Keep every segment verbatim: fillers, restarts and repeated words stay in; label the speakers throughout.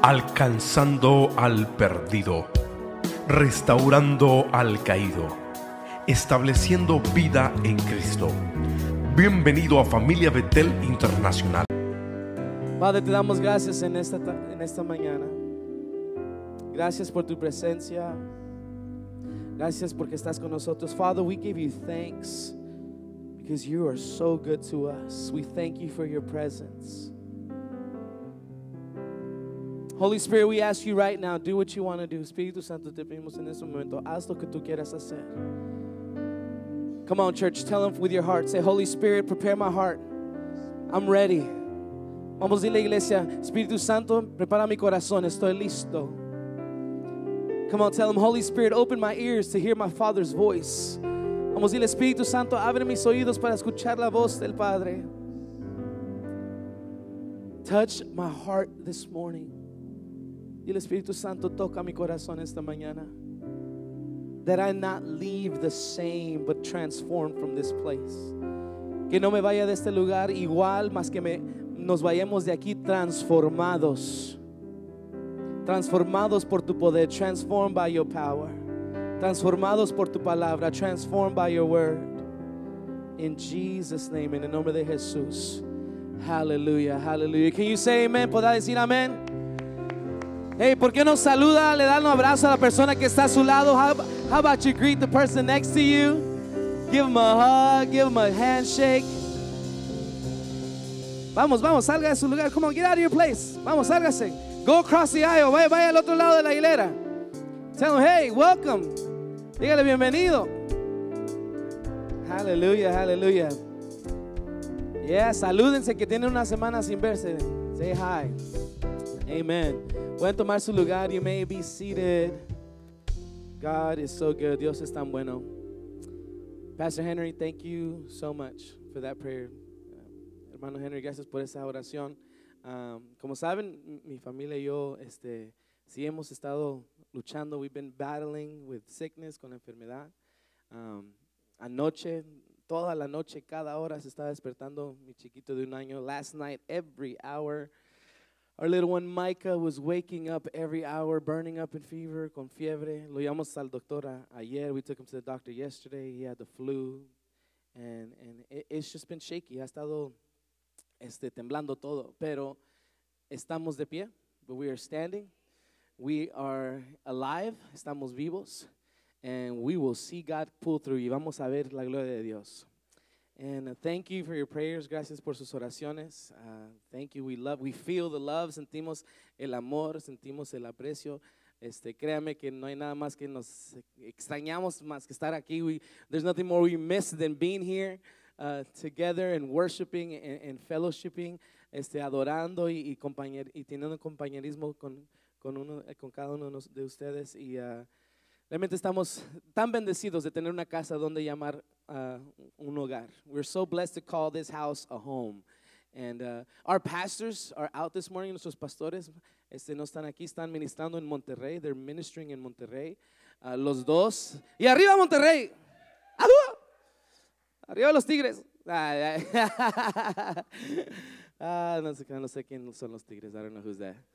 Speaker 1: alcanzando al perdido, restaurando al caído, estableciendo vida en Cristo. Bienvenido a Familia Betel Internacional.
Speaker 2: Padre, te damos gracias en esta, en esta mañana. Gracias por tu presencia. Gracias porque estás con nosotros. Father, we give you thanks because you are so good to us. We thank you for your presence. Holy Spirit, we ask you right now, do what you want to do. Espíritu Santo, te pedimos en este momento, haz lo que tú quieras hacer. Come on, church, tell them with your heart. Say, Holy Spirit, prepare my heart. I'm ready. Vamos a decirle, iglesia, Espíritu Santo, prepara mi corazón, estoy listo. Come on, tell him, Holy Spirit, open my ears to hear my Father's voice. Vamos a decirle, Espíritu Santo, abre mis oídos para escuchar la voz del Padre. Touch my heart this morning. Y el Espíritu Santo toca mi corazón esta mañana. That I not leave the same but transformed from this place. Que no me vaya de este lugar igual, más que me, nos vayamos de aquí transformados. Transformados por tu poder. Transformed by your power. Transformados por tu palabra. Transformed by your word. In Jesus' name, en el nombre de Jesús. Hallelujah, hallelujah. Can you say amen? ¿Podrá decir amén? Hey, ¿por qué no saluda? Le da un abrazo a la persona que está a su lado. How, how about you greet the person next to you? Give him a hug, give him a handshake. Vamos, vamos, salga de su lugar. Come on, get out of your place. Vamos, sálgase. Go across the aisle. Vaya, vaya al otro lado de la hilera. Tell him, hey, welcome. Dígale bienvenido. Hallelujah, hallelujah. Yeah, salúdense que tienen una semana sin verse. Say hi. Amen. Pueden tomar su lugar. You may be seated. God is so good. Dios es tan bueno. Pastor Henry, thank you so much for that prayer. Uh, hermano Henry, gracias por esa oración. Um, como saben, mi familia y yo este, sí hemos estado luchando. We've been battling with sickness, con la enfermedad. Um, anoche, toda la noche, cada hora se estaba despertando mi chiquito de un año. Last night, every hour, our little one Micah was waking up every hour, burning up in fever, con fiebre. Lo llevamos al doctor a, ayer. We took him to the doctor yesterday. He had the flu. And, and it, it's just been shaky. Ha estado este, temblando todo. Pero estamos de pie. But we are standing. We are alive. Estamos vivos. And we will see God pull through. Y vamos a ver la gloria de Dios. And uh, thank you for your prayers. Gracias por sus oraciones. Uh, thank you. We love, we feel the love. Sentimos el amor, sentimos el aprecio. Este, créame que no hay nada más que nos extrañamos más que estar aquí. We, there's nothing more we miss than being here uh, together and worshiping and, and fellowshipping, este, adorando y, y, compañer, y teniendo compañerismo con, con, uno, con cada uno de ustedes. Y uh, realmente estamos tan bendecidos de tener una casa donde llamar uh, un hogar. We're so blessed to call this house a home. And uh, our pastors are out this morning. Nuestros pastores este, no están aquí, están ministrando en Monterrey. They're ministering in Monterrey. Uh, los dos. Y arriba Monterrey. ¡Arriba! Arriba los Tigres. Ah, ah, no, sé, no sé quién son los Tigres. I don't know who's that.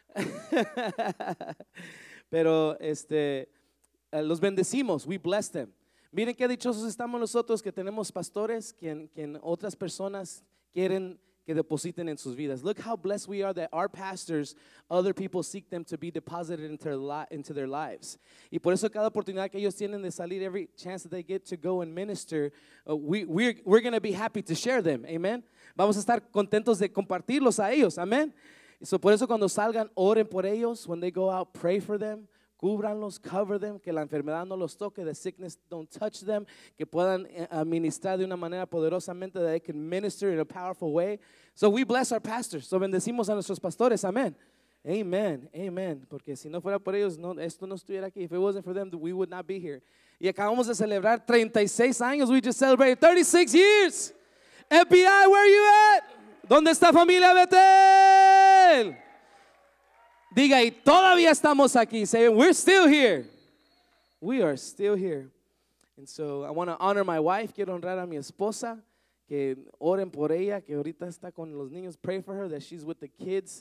Speaker 2: Pero este... Uh, los bendecimos, we bless them. Miren qué dichosos estamos nosotros que tenemos pastores quien, quien otras personas quieren que depositen en sus vidas. Look how blessed we are that our pastors, other people seek them to be deposited into their, li- into their lives. Y por eso cada oportunidad que ellos tienen de salir, every chance that they get to go and minister, uh, we, we're, we're going to be happy to share them, amen. Vamos a estar contentos de compartirlos a ellos, amen. So por eso cuando salgan, oren por ellos. When they go out, pray for them. Cúbranlos, cover them, que la enfermedad no los toque, the sickness don't touch them, que puedan ministrar de una manera poderosamente, that they can minister in a powerful way. So we bless our pastors, so bendecimos a nuestros pastores, amen. Amen, amen, porque si no fuera por ellos, no, esto no estuviera aquí. If it wasn't for them, we would not be here. Y acabamos de celebrar treinta y seis años, we just celebrated thirty-six years. F B I, where are you at? ¿Dónde está Familia Betel? Diga, y todavía estamos aquí. Say, we're still here. We are still here. And so I want to honor my wife. Quiero honrar a mi esposa. Que oren por ella, que ahorita está con los niños. Pray for her that she's with the kids.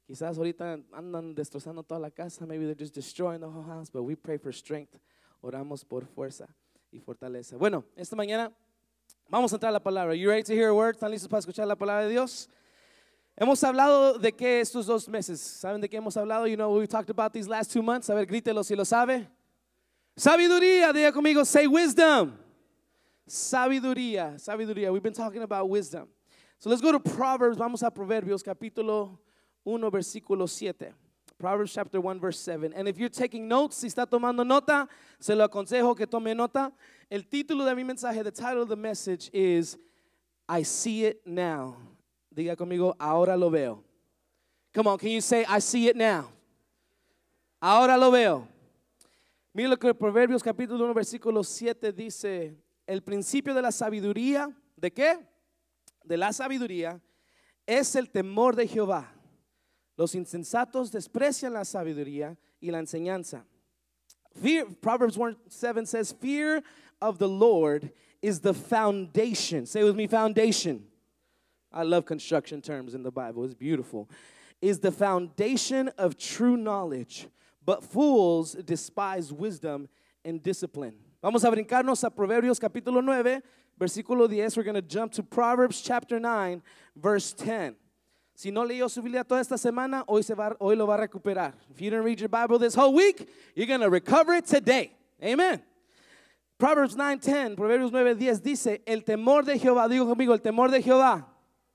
Speaker 2: Quizás ahorita andan destrozando toda la casa. Maybe they're just destroying the whole house. But we pray for strength. Oramos por fuerza y fortaleza. Bueno, esta mañana vamos a entrar a la palabra. You ready to hear a word? ¿Están listos para escuchar la palabra de Dios? Hemos hablado de qué estos dos meses. ¿Saben de qué hemos hablado? You know what we talked about these last two months. A ver, grítelo si lo sabe. Sabiduría. Diga conmigo, say wisdom. Sabiduría. Sabiduría. We've been talking about wisdom. So let's go to Proverbs. Vamos a Proverbios capítulo uno, versículo siete. Proverbs chapter one, verse seven. And if you're taking notes, si está tomando nota, se lo aconsejo que tome nota. El título de mi mensaje, the title of the message is I see it now. Diga conmigo, ahora lo veo. Come on, can you say, I see it now? Ahora lo veo. Mira lo que Proverbios capítulo uno, versículo siete dice. El principio de la sabiduría, ¿de qué? De la sabiduría es el temor de Jehová. Los insensatos desprecian la sabiduría y la enseñanza. Fear, Proverbs one seven says, fear of the Lord is the foundation. Say with me, foundation. I love construction terms in the Bible. It's beautiful. Is the foundation of true knowledge, but fools despise wisdom and discipline. Vamos a brincarnos a Proverbios capítulo nueve, versículo diez. We're going to jump to Proverbs chapter nine, verse ten. Si no leyó su Biblia toda esta semana, hoy, se va, hoy lo va a recuperar. If you didn't read your Bible this whole week, you're going to recover it today. Amen. Proverbs nine ten, Proverbios nueve diez dice, el temor de Jehová, digo conmigo, el temor de Jehová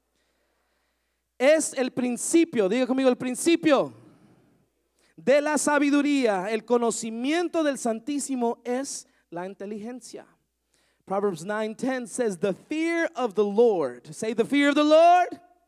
Speaker 2: es el principio, diga conmigo, el principio de la sabiduría. El conocimiento del Santísimo es la inteligencia. Proverbs nine ten says, the fear of the Lord, say the fear of the Lord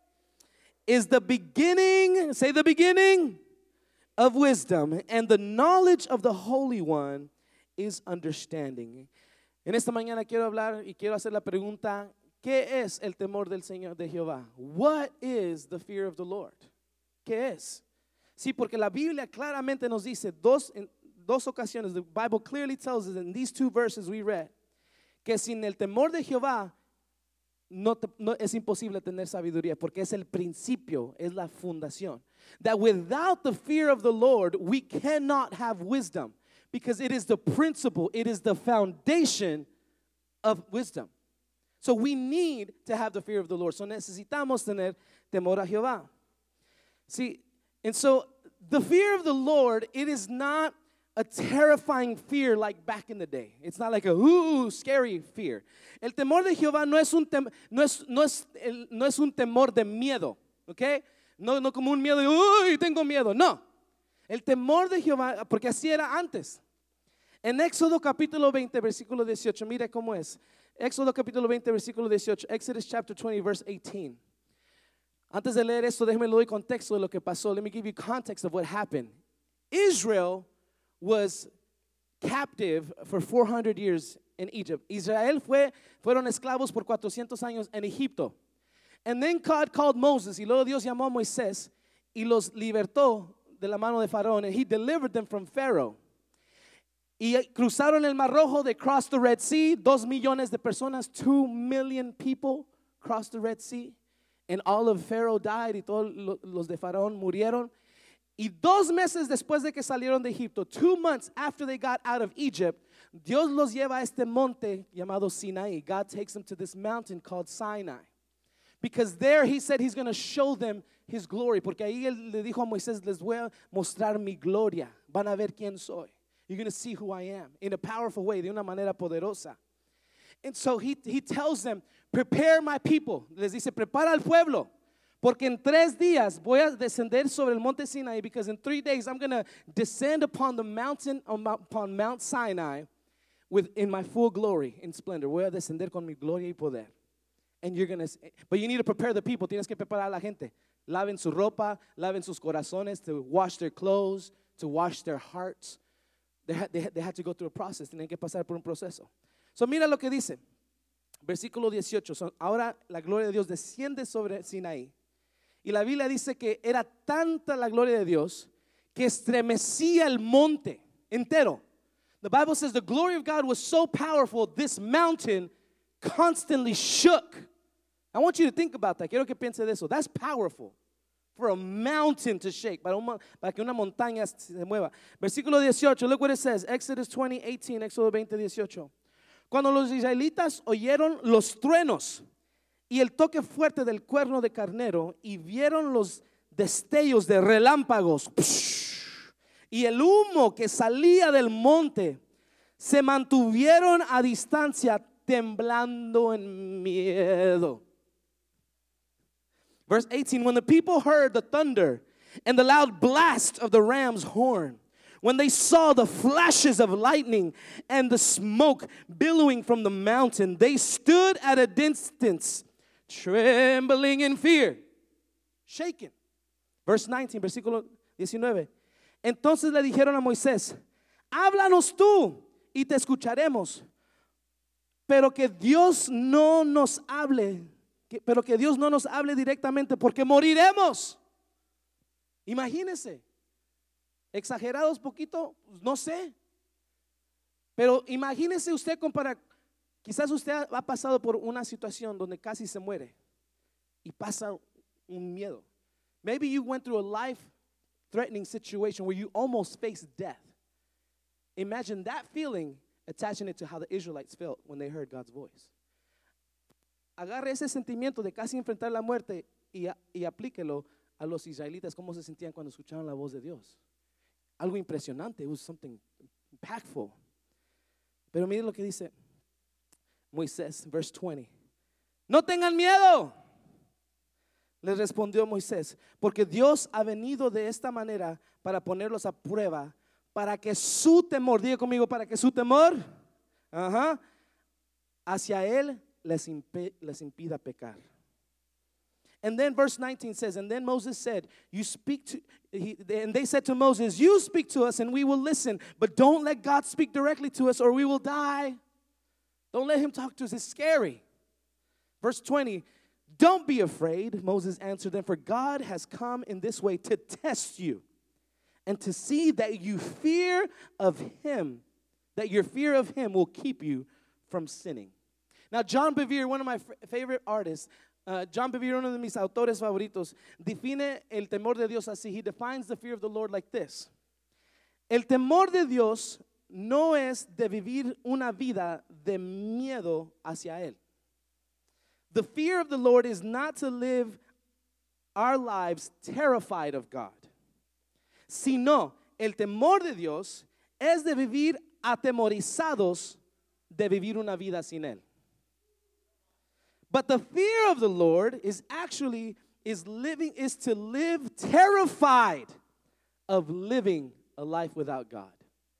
Speaker 2: is the beginning, say the beginning of wisdom, and the knowledge of the Holy One is understanding. En esta mañana quiero hablar y quiero hacer la pregunta, ¿qué es el temor del Señor de Jehová? What is the fear of the Lord? ¿Qué es? Sí, porque la Biblia claramente nos dice dos, en dos ocasiones, the Bible clearly tells us in these two verses we read, que sin el temor de Jehová no, te, no es imposible tener sabiduría, porque es el principio, es la fundación. That without the fear of the Lord, we cannot have wisdom, because it is the principle, it is the foundation of wisdom. So we need to have the fear of the Lord. So necesitamos tener temor a Jehová. See, and so the fear of the Lord, it is not a terrifying fear like back in the day. It's not like a ooh, scary fear. El temor de Jehová no es un tem, no es no es el, no es un temor de miedo, ¿okay? No no como un miedo de uy, tengo miedo. No. El temor de Jehová, porque así era antes. En Éxodo capítulo veinte, versículo dieciocho, mire cómo es. Éxodo capítulo veinte, versículo dieciocho. Exodus chapter twenty, verse eighteen. Antes de leer esto, déjeme le doy contexto de lo que pasó. Let me give you context of what happened. Israel was captive for four hundred years in Egypt. Israel fue, fueron esclavos por cuatrocientos años en Egipto. And then God called Moses, y luego Dios llamó a Moisés y los libertó de la mano de Faraón, and he delivered them from Pharaoh. Y cruzaron el Mar Rojo, they crossed the Red Sea, dos millones de personas, two million people crossed the Red Sea, and all of Pharaoh died, y todos los de Faraón murieron. Y dos meses después de que salieron de Egipto, two months after they got out of Egypt, Dios los lleva a este monte llamado Sinai. God takes them to this mountain called Sinai. Because there he said he's going to show them his glory. Porque ahí él le dijo a Moisés, les voy a mostrar mi gloria. Van a ver quién soy. You're going to see who I am in a powerful way, de una manera poderosa. And so he, he tells them, prepare my people. Les dice, prepara al pueblo. Porque en tres días voy a descender sobre el monte Sinai, because in three days I'm going to descend upon the mountain, upon Mount Sinai with, in my full glory, in splendor. Voy a descender con mi gloria y poder. And you're going to, but you need to prepare the people. Tienes que preparar a la gente. Laven su ropa, laven sus corazones, to wash their clothes, to wash their hearts. They had, they, had, they had to go through a process. Tienen que pasar por un proceso. So mira lo que dice. Versículo dieciocho. So, ahora la gloria de Dios desciende sobre Sinaí. Y la Biblia dice que era tanta la gloria de Dios que estremecía el monte entero. The Bible says the glory of God was so powerful, this mountain constantly shook. I want you to think about that. Quiero que piense de eso. That's powerful. for a mountain to shake, para, una, para que una montaña se mueva. Versículo dieciocho, look what it says, Exodus twenty, eighteen, Éxodo veinte, dieciocho. Cuando los israelitas oyeron los truenos y el toque fuerte del cuerno de carnero y vieron los destellos de relámpagos y el humo que salía del monte, se mantuvieron a distancia temblando en miedo. Verse eighteen, when the people heard the thunder and the loud blast of the ram's horn, when they saw the flashes of lightning and the smoke billowing from the mountain, they stood at a distance, trembling in fear, shaken. Verse nineteen, versículo diecinueve. Entonces le dijeron a Moisés, háblanos tú y te escucharemos, pero que Dios no nos hable, que, pero que Dios no nos hable directamente porque moriremos. Imagínense, exagerados poquito, no sé, pero imagínese usted comparar, quizás usted ha pasado por una situación donde casi se muere y pasa un miedo. Maybe you went through a life-threatening situation where you almost faced death. Imagine that feeling, attaching it to how the Israelites felt when they heard God's voice. Agarre ese sentimiento de casi enfrentar la muerte y, y aplíquelo a los israelitas, cómo se sentían cuando escucharon la voz de Dios. Algo impresionante, it was something impactful. Pero mire lo que dice Moisés, verse twenty. No tengan miedo, le respondió Moisés, porque Dios ha venido de esta manera para ponerlos a prueba, para que su temor, diga conmigo, para que su temor uh-huh, hacia Él les, imp- les impida pecar. And then verse nineteen says, and then Moses said, you speak to, he, and they said to Moses, you speak to us and we will listen, but don't let God speak directly to us or we will die. Don't let him talk to us, it's scary. Verse twenty, don't be afraid, Moses answered them, for God has come in this way to test you and to see that you fear of him, that your fear of him will keep you from sinning. Now John Bevere, one of my f- favorite artists, Uh, John Bevere, uno de mis autores favoritos, define el temor de Dios así. He defines the fear of the Lord like this. El temor de Dios no es de vivir una vida de miedo hacia Él. The fear of the Lord is not to live our lives terrified of God, sino el temor de Dios es de vivir atemorizados de vivir una vida sin Él. But the fear of the Lord is actually is living is to live terrified of living a life without God.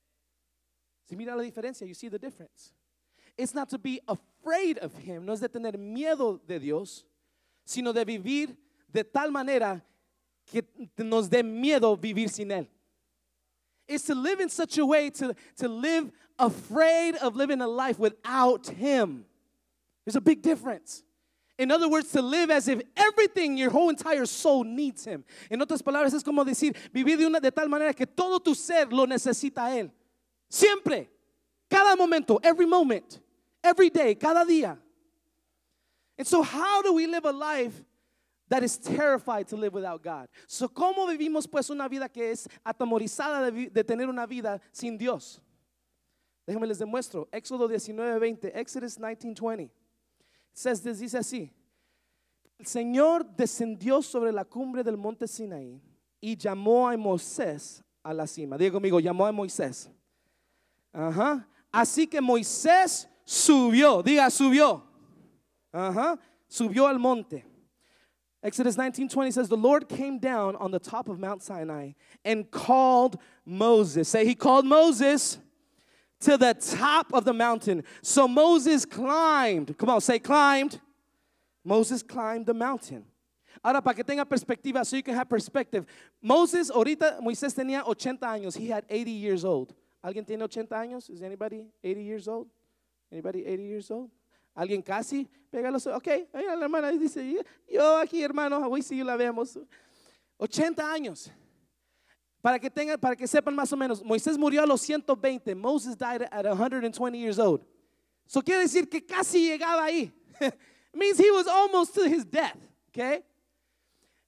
Speaker 2: Si mira la diferencia, you see the difference. It's not to be afraid of him, no es de tener miedo de Dios, sino de vivir de tal manera que nos dé miedo vivir sin él. It's to live in such a way to, to live afraid of living a life without him. There's a big difference. In other words, to live as if everything, your whole entire soul needs him. En otras palabras, es como decir, vivir de, una, de tal manera que todo tu ser lo necesita a él. Siempre, cada momento, every moment, every day, cada día. And so how do we live a life that is terrified to live without God? So, ¿cómo vivimos pues una vida que es atemorizada de, de tener una vida sin Dios? Déjenme les demuestro. Éxodo diecinueve veinte, Exodus nineteen twenty. Says this, dice así: el Señor descendió sobre la cumbre del monte Sinaí y llamó a Moisés a la cima. Diga conmigo, llamó a Moisés. Ajá. Así que Moisés subió, diga subió. Ajá. Subió al monte. Exodus nineteen twenty says, the Lord came down on the top of Mount Sinai and called Moses. Say, he called Moses to the top of the mountain. So Moses climbed. Come on, say climbed. Moses climbed the mountain. Ahora, para que tenga perspectiva, so you can have perspective. Moses, ahorita, Moisés tenía ochenta años. He had eighty years old. ¿Alguien tiene ochenta años? Is anybody eighty years old? Anybody eighty years old? ¿Alguien casi? Pégalo. Ok, la hermana dice, yo aquí, hermano, hoy sí la vemos. ochenta años. Para que tengan, para que sepan más o menos, Moisés murió a los ciento veinte. Moses died at one hundred twenty years old. So quiere decir que casi llegaba ahí. It means he was almost to his death. Okay?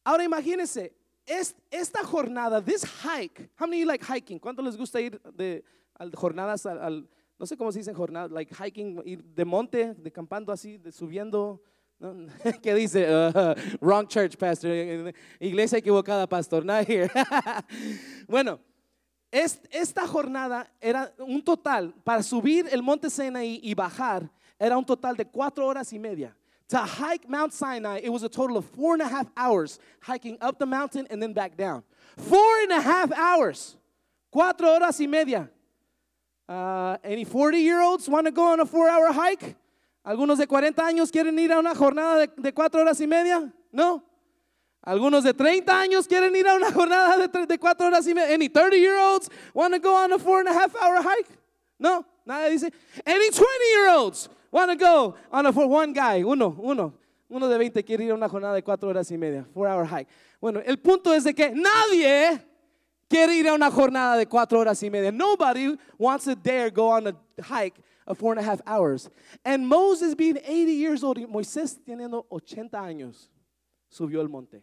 Speaker 2: Ahora imagínense, es, esta jornada, this hike, how many of you like hiking? ¿Cuánto les gusta ir de al, jornadas al, al, no sé cómo se dice jornadas, like hiking, ir de monte, de campando así, de subiendo? ¿No? ¿Qué dice? Uh, wrong church, pastor. Iglesia equivocada, pastor. Not here. Bueno, es, esta jornada era un total, para subir el monte Sinaí y bajar, era un total de cuatro horas y media. To hike Mount Sinai, it was a total of four and a half hours hiking up the mountain and then back down. Four and a half hours. Cuatro horas y media. Uh, any forty-year-olds want to go on a four-hour hike? ¿Algunos de cuarenta años quieren ir a una jornada de, de cuatro horas y media? No. ¿Algunos de treinta años quieren ir a una jornada de, de cuatro horas y media? Any thirty-year-olds want to go on a four and a half hour hike? No. Nadie dice. Any twenty-year-olds want to go on a for one guy? Uno, uno. Uno de veinte quiere ir a una jornada de cuatro horas y media. Four hour hike. Bueno, el punto es de que nadie quiere ir a una jornada de cuatro horas y media. Nobody wants to dare go on a hike of four and a half hours. And Moses being eighty years old, Moisés teniendo ochenta años, subió el monte.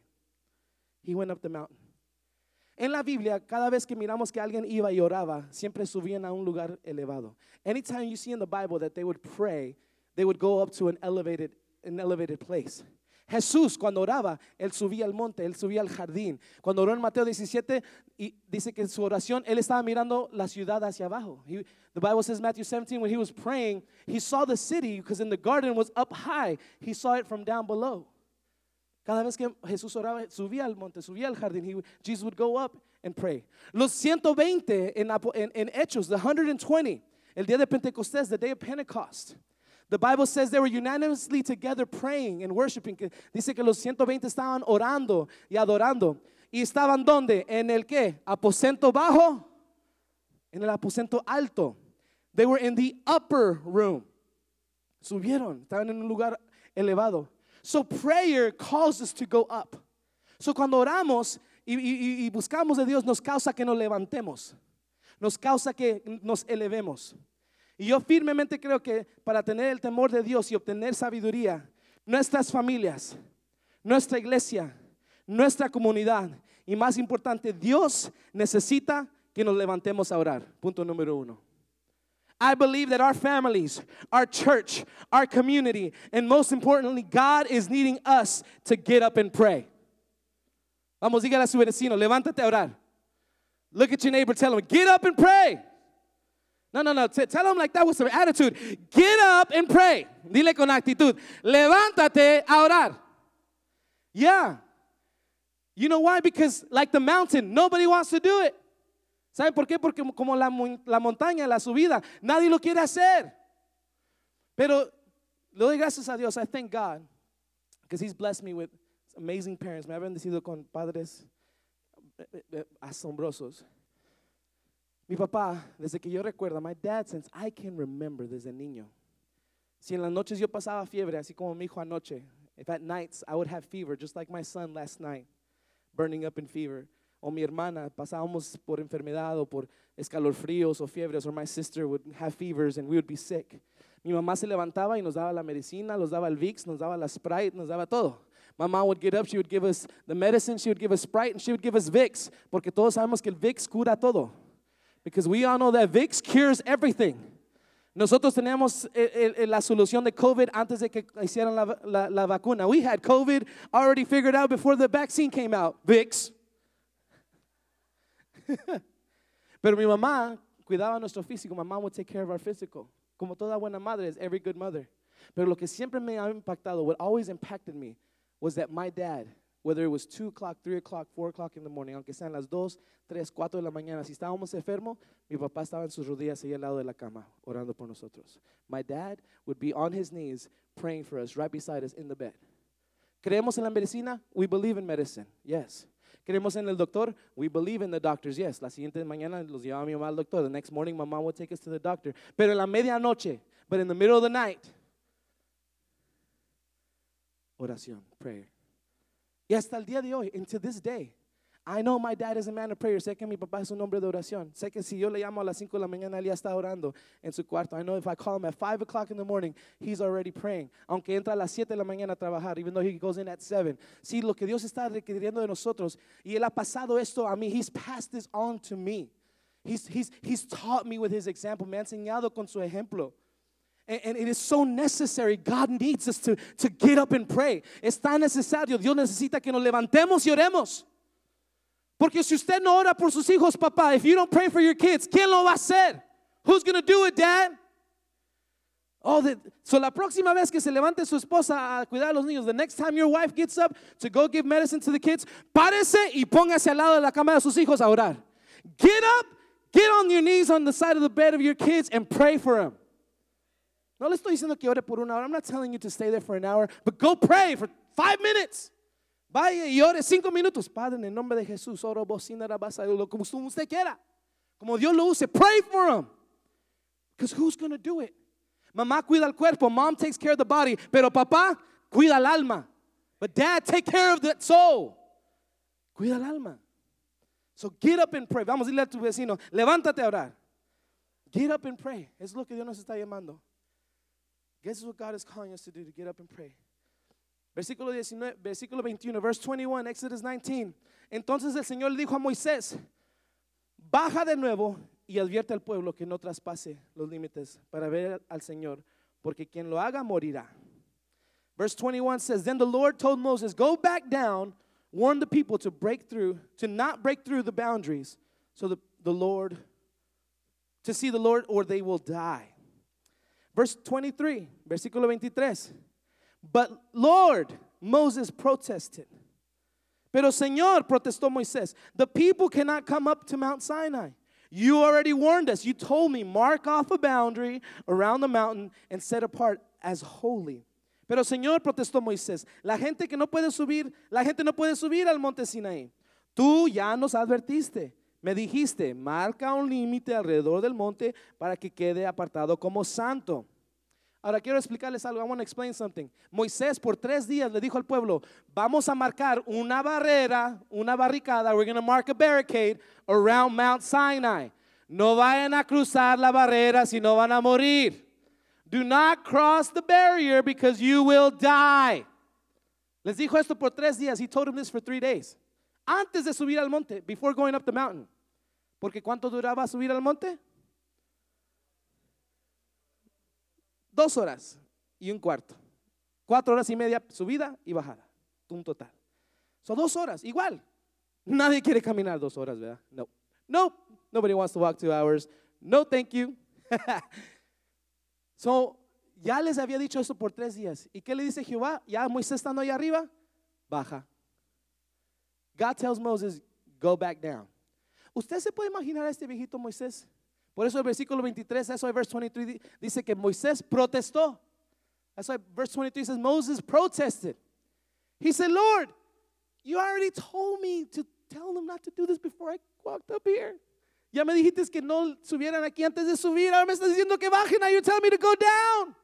Speaker 2: He went up the mountain. En la Biblia, cada vez que miramos que alguien iba y oraba, siempre subían a un lugar elevado. Anytime you see in the Bible that they would pray, they would go up to an elevated, an elevated place. Jesús, cuando oraba, él subía al monte, él subía al jardín. Cuando oró en Mateo diecisiete, y dice que en su oración él estaba mirando la ciudad hacia abajo. He, the Bible says, Matthew seventeen, when he was praying, he saw the city because in the garden was up high. He saw it from down below. Cada vez que Jesús oraba, subía al monte, subía al jardín, he, Jesus would go up and pray. Los ciento veinte en, en, en Hechos, the one hundred twenty, el día de Pentecostés, the day of Pentecost. The Bible says they were unanimously together praying and worshiping. Dice que los ciento veinte estaban orando y adorando. ¿Y estaban dónde? ¿En el qué? ¿Aposento bajo? En el aposento alto. They were in the upper room. Subieron, estaban en un lugar elevado. So prayer calls us to go up. So cuando oramos y, y, y buscamos de Dios, nos causa que nos levantemos. Nos causa que nos elevemos. Y yo firmemente creo que para tener el temor de Dios y obtener sabiduría, nuestras familias, nuestra iglesia, nuestra comunidad y más importante, Dios necesita que nos levantemos a orar. Punto número uno. I believe that our families, our church, our community, and most importantly, God is needing us to get up and pray. Vamos, dígale a su vecino, levántate a orar. Look at your neighbor, tell him, get up and pray. No, no, no, T- tell him like that with some attitude. Get up and pray. Dile con actitud, levántate a orar. Yeah. You know why? Because like the mountain, nobody wants to do it. ¿Saben por qué? Porque como la, la montaña, la subida, nadie lo quiere hacer. Pero le doy gracias a Dios. I thank God because He's blessed me with amazing parents. Me ha bendecido con padres asombrosos. Mi papá, desde que yo recuerdo, my dad, since I can remember desde niño. Si en las noches yo pasaba fiebre, así como mi hijo anoche. If at nights I would have fever, just like my son last night, burning up in fever. O mi hermana, pasábamos por enfermedad o por escalofríos o fiebres, or my sister would have fevers and we would be sick. Mi mamá se levantaba y nos daba la medicina, nos daba el Vicks, nos daba la Sprite, nos daba todo. My mom would get up, she would give us the medicine, she would give us Sprite, and she would give us Vicks, porque todos sabemos que el Vicks cura todo. Because we all know that Vicks cures everything. Nosotros teníamos el, el, la solución de COVID antes de que hicieran la, la, la vacuna. We had COVID already figured out before the vaccine came out. Vicks. Pero mi mamá cuidaba nuestro físico. My mom would take care of our physical. Como toda buena madre is every good mother. Pero lo que siempre me ha impactado, what always impacted me, was that my dad, whether it was two o'clock, three o'clock, four o'clock in the morning, aunque sean las dos, tres, cuatro de la mañana, si estábamos enfermos, mi papá estaba en sus rodillas ahí al lado de la cama, orando por nosotros. My dad would be on his knees praying for us right beside us in the bed. ¿Creemos en la medicina? We believe in medicine, yes. ¿Creemos en el doctor? We believe in the doctors, yes. La siguiente mañana los llevaba mi mamá al doctor. The next morning my mom would take us to the doctor. Pero en la medianoche, but in the middle of the night, oración, prayer. Y hasta el día de hoy, and to this day, I know my dad is a man of prayer. Sé que mi papá es un hombre de oración. Sé que si yo le llamo a las cinco de la mañana, él ya está orando en su cuarto. I know if I call him at five o'clock in the morning, he's already praying. Aunque entra a las siete de la mañana a trabajar, even though he goes in at seven. Sí, lo que Dios está requiriendo de nosotros. Y él ha pasado esto a mí. He's passed this on to me. He's, he's, he's taught me with his example. Me ha enseñado con su ejemplo. And, and it is so necessary. God needs us to, to get up and pray. Es tan necesario. Dios necesita que nos levantemos y oremos. Porque si usted no ora por sus hijos, papá, if you don't pray for your kids, ¿quién lo va a hacer? Who's going to do it, Dad? Oh, the, so la próxima vez que se levante su esposa a cuidar a los niños, the next time your wife gets up to go give medicine to the kids, párese y póngase al lado de la cama de sus hijos a orar. Get up, get on your knees on the side of the bed of your kids and pray for them. No le estoy diciendo que ore por una hora. I'm not telling you to stay there for an hour, but go pray for five minutes. Vaya y ore cinco minutos. Padre, en el nombre de Jesús, oro bocina rabasa, como usted quiera. Como Dios lo use, pray for him. Because who's going to do it? Mamá cuida el cuerpo. Mom takes care of the body. Pero papá cuida el alma. But dad take care of the soul. Cuida el alma. So get up and pray. Vamos a decirle a tu vecino, levántate a orar. Get up and pray. Es lo que Dios nos está llamando. Guess what God is calling us to do, to get up and pray. Versículo diecinueve, versículo veintiuno, verse twenty-one, Exodus nineteen. Entonces el Señor le dijo a Moisés, baja de nuevo y advierte al pueblo que no traspase los límites para ver al Señor, porque quien lo haga morirá. Verse twenty-one says, then the Lord told Moses, go back down, warn the people to break through, to not break through the boundaries, so the, the Lord, to see the Lord, or they will die. Verse twenty-three, versículo veintitrés. But Lord, Moses protested. Pero Señor, protestó Moisés, the people cannot come up to Mount Sinai. You already warned us. You told me, mark off a boundary around the mountain and set apart as holy. Pero Señor, protestó Moisés, la gente que no puede subir, la gente no puede subir al monte Sinaí. Tú ya nos advertiste. Me dijiste, marca un límite alrededor del monte para que quede apartado como santo. Ahora quiero explicarles algo. I want to explain something. Moisés por tres días le dijo al pueblo, vamos a marcar una barrera, una barricada. We're going to mark a barricade around Mount Sinai. No vayan a cruzar la barrera si no van a morir. Do not cross the barrier because you will die. Les dijo esto por tres días. He told them this for three days. Antes de subir al monte, before going up the mountain. Porque ¿cuánto duraba subir al monte? Dos horas y un cuarto. Cuatro horas y media subida y bajada. Un total. Son dos horas, igual. Nadie quiere caminar dos horas, ¿verdad? No. No. Nobody wants to walk two hours. No, thank you. So, ya les había dicho eso por tres días. ¿Y qué le dice Jehová? Ya Moisés estando ahí arriba, baja. God tells Moses, go back down. ¿Usted se puede imaginar a este viejito Moisés? Por eso el versículo veintitrés, eso el verse twenty-three dice que Moisés protestó. That's why verse twenty-three says Moses protested. He said, Lord, you already told me to tell them not to do this before I walked up here. Ya me dijiste que no subieran aquí antes de subir. Ahora me estás diciendo que bajen. Now you're telling me to go down.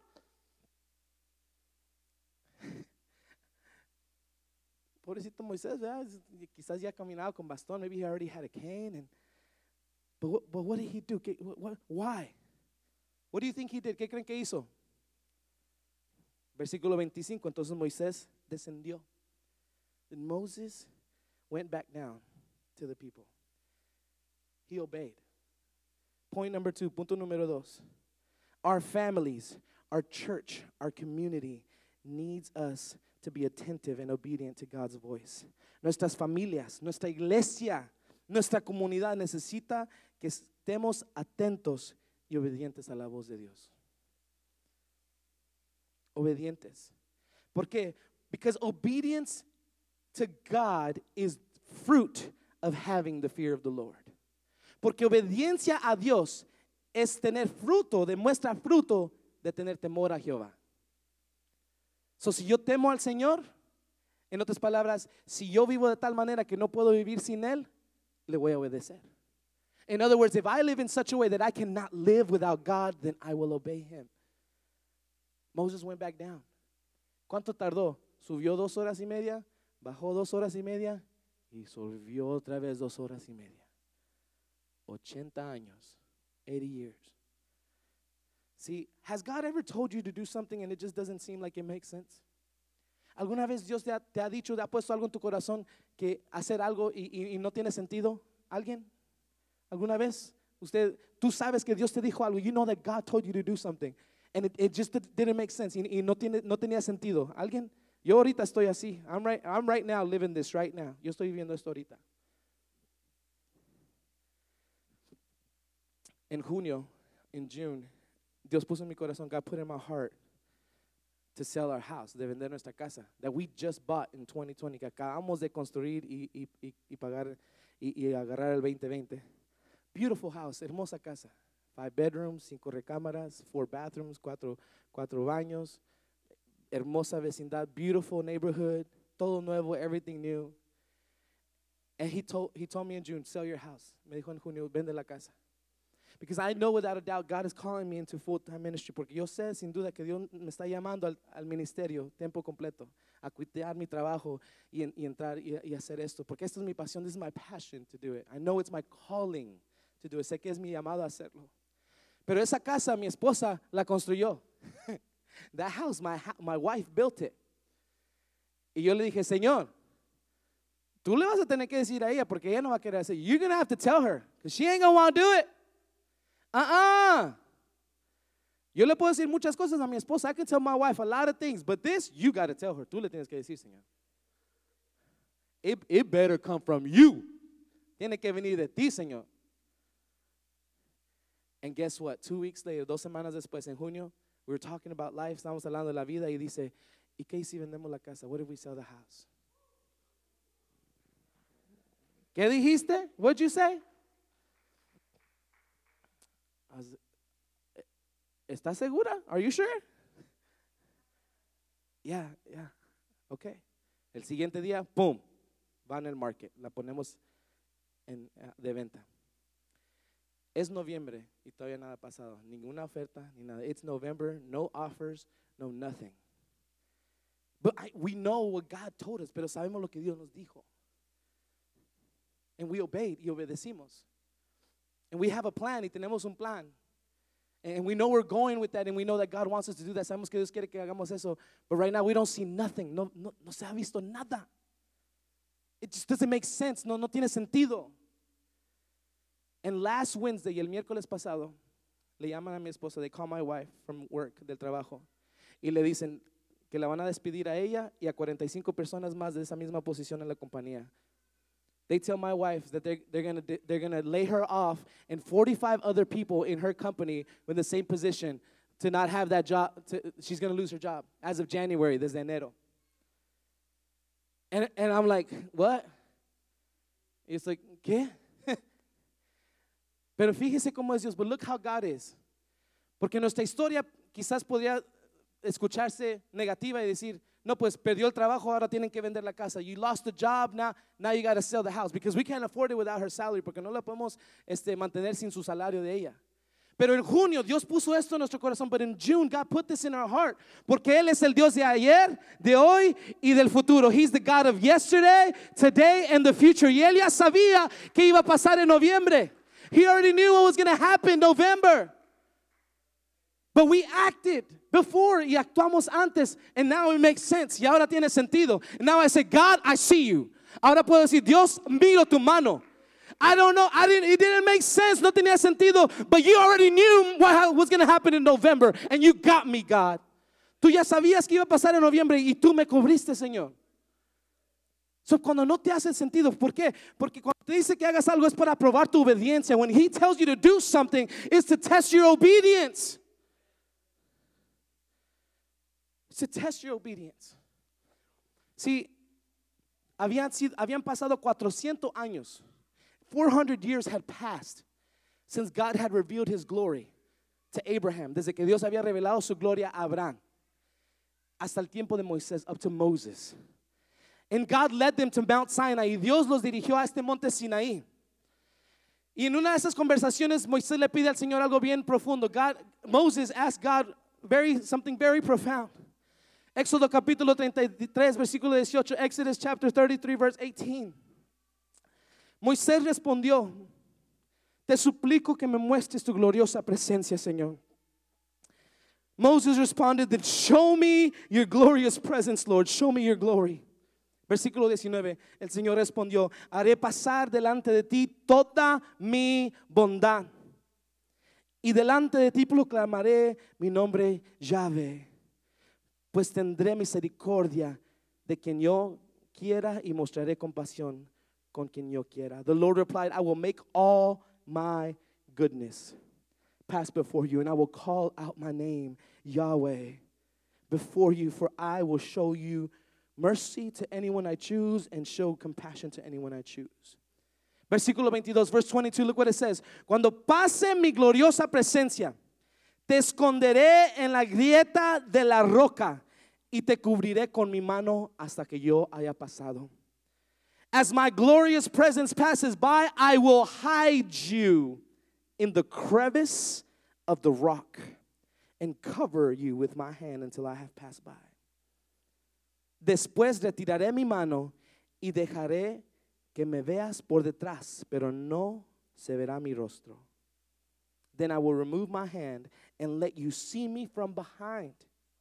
Speaker 2: Pobrecito Moisés, ¿verdad? Quizás ya caminaba con bastón. Maybe he already had a cane. And, but, what, but what did he do? What, what, why? What do you think he did? ¿Qué creen que hizo? Versículo veinticinco. Entonces Moisés descendió. Then Moses went back down to the people. He obeyed. Point number two, punto número dos. Our families, our church, our community needs us to be attentive and obedient to God's voice. Nuestras familias, nuestra iglesia, nuestra comunidad necesita que estemos atentos y obedientes a la voz de Dios. Obedientes. ¿Por qué? Because obedience to God is fruit of having the fear of the Lord. Porque obediencia a Dios es tener fruto, demuestra fruto de tener temor a Jehová. So, si yo temo al Señor, en otras palabras, si yo vivo de tal manera que no puedo vivir sin Él, le voy a obedecer. In other words, if I live in such a way that I cannot live without God, then I will obey Him. Moses went back down. ¿Cuánto tardó? Subió dos horas y media, bajó dos horas y media Y volvió otra vez dos horas y media. ochenta años. eighty years. See, has God ever told you to do something and it just doesn't seem like it makes sense? ¿Alguna vez Dios te ha, te ha dicho, te ha puesto algo en tu corazón que hacer algo y, y, y no tiene sentido? ¿Alguien? ¿Alguna vez? Usted, tú sabes que Dios te dijo algo. You know that God told you to do something. And it, it just didn't make sense. Y, y no, tiene, no tenía sentido. ¿Alguien? Yo ahorita estoy así. I'm right, I'm right now living this right now. Yo estoy viviendo esto ahorita. En junio, in June, Dios puso en mi corazón, God put in my heart to sell our house, de vender nuestra casa, that we just bought in twenty twenty, que acabamos de construir y, y, y, y pagar y, y agarrar el veinte veinte. Beautiful house, hermosa casa. Five bedrooms, cinco recámaras, four bathrooms, cuatro, cuatro baños. Hermosa vecindad, beautiful neighborhood, todo nuevo, everything new. And he told, he told me in June, sell your house. Me dijo en junio, vende la casa. Because I know without a doubt God is calling me into full-time ministry. Porque yo sé sin duda que Dios me está llamando al, al ministerio, tiempo completo, a cuidar mi trabajo y, en, y entrar y, y hacer esto. Porque esta es mi pasión, this is my passion to do it. I know it's my calling to do it. Sé que es mi llamado a hacerlo. Pero esa casa mi esposa la construyó. That house, my, my wife built it. Y yo le dije, Señor, tú le vas a tener que decir a ella porque ella no va a querer hacer. You're going to have to tell her because she ain't going to want to do it. Uh-uh. Yo le puedo decir muchas cosas a mi esposa. I can tell my wife a lot of things, but this, you got to tell her. Tú le tienes que decir, Señor. It, it better come from you. Tiene que venir de ti, Señor. And guess what? Two weeks later, dos semanas después, en junio, we were talking about life. Estamos hablando de la vida y dice, ¿y qué si vendemos la casa? What if we sell the house? ¿Qué dijiste? What'd you say? ¿Estás segura? Are you sure? Yeah, yeah. Okay. El siguiente día, boom, va en el market. La ponemos en, uh, de venta. Es noviembre y todavía nada ha pasado. Ninguna oferta, ni nada. It's November, no offers, no nothing. But I, we know what God told us, pero sabemos lo que Dios nos dijo. And we obeyed y obedecimos. And we have a plan y tenemos un plan. And we know we're going with that and we know that God wants us to do that. Sabemos que Dios quiere que hagamos eso. But right now we don't see nothing. No, no, no se ha visto nada. It just doesn't make sense. No, no tiene sentido. And last Wednesday y el miércoles pasado le llaman a mi esposa. They call my wife from work, del trabajo. Y le dicen que la van a despedir a ella y a cuarenta y cinco personas más de esa misma posición en la compañía. They tell my wife that they're, they're going to they're gonna lay her off and forty-five other people in her company with the same position to not have that job. To, she's going to lose her job as of January, desde enero. And, and I'm like, what? It's like, ¿qué? Pero fíjese cómo es Dios. But look how God is. Porque nuestra historia quizás podría escucharse negativa y decir, no, pues perdió el trabajo, ahora tienen que vender la casa. You lost the job, now, now you got to sell the house. Because we can't afford it without her salary. Porque no la podemos este, mantener sin su salario de ella. Pero en junio Dios puso esto en nuestro corazón. But in June God put this in our heart. Porque Él es el Dios de ayer, de hoy y del futuro. He's the God of yesterday, today and the future. Y Él ya sabía que iba a pasar en noviembre. He already knew what was going to happen in November. But we acted before y actuamos antes. And now it makes sense. Y ahora tiene sentido. And now I say, God, I see you. Ahora puedo decir, Dios, miro tu mano. I don't know. I didn't, it didn't make sense. No tenía sentido. But you already knew what was going to happen in November. And you got me, God. Tú ya sabías que iba a pasar en noviembre y tú me cubriste, Señor. So, cuando no te hace sentido, ¿por qué? Porque cuando te dice que hagas algo es para probar tu obediencia. When He tells you to do something, it's to test your obedience. It's to test your obedience. See, habían, sido, habían pasado cuatrocientos años. four hundred years had passed since God had revealed His glory to Abraham. Desde que Dios había revelado su gloria a Abraham. Hasta el tiempo de Moisés, up to Moses. And God led them to Mount Sinai. Y Dios los dirigió a este monte Sinaí. Y en una de esas conversaciones, Moisés le pide al Señor algo bien profundo. God, Moses asked God very, something very profound. Éxodo capítulo treinta y tres, versículo dieciocho. Exodus chapter thirty-three, verse eighteen. Moisés respondió, te suplico que me muestres tu gloriosa presencia, Señor. Moses responded that show me your glorious presence, Lord. Show me your glory. Versículo diecinueve, el Señor respondió, haré pasar delante de ti toda mi bondad. Y delante de ti proclamaré mi nombre Yahvé. Pues tendré misericordia de quien yo quiera y mostraré compasión con quien yo quiera. The Lord replied, I will make all my goodness pass before you, and I will call out my name, Yahweh, before you, for I will show you mercy to anyone I choose and show compassion to anyone I choose. Versículo veintidós, verse twenty-two, look what it says. Cuando pase mi gloriosa presencia, te esconderé en la grieta de la roca y te cubriré con mi mano hasta que yo haya pasado. As my glorious presence passes by, I will hide you in the crevice of the rock and cover you with my hand until I have passed by. Después retiraré mi mano y dejaré que me veas por detrás, pero no se verá mi rostro. Then I will remove my hand and let you see me from behind,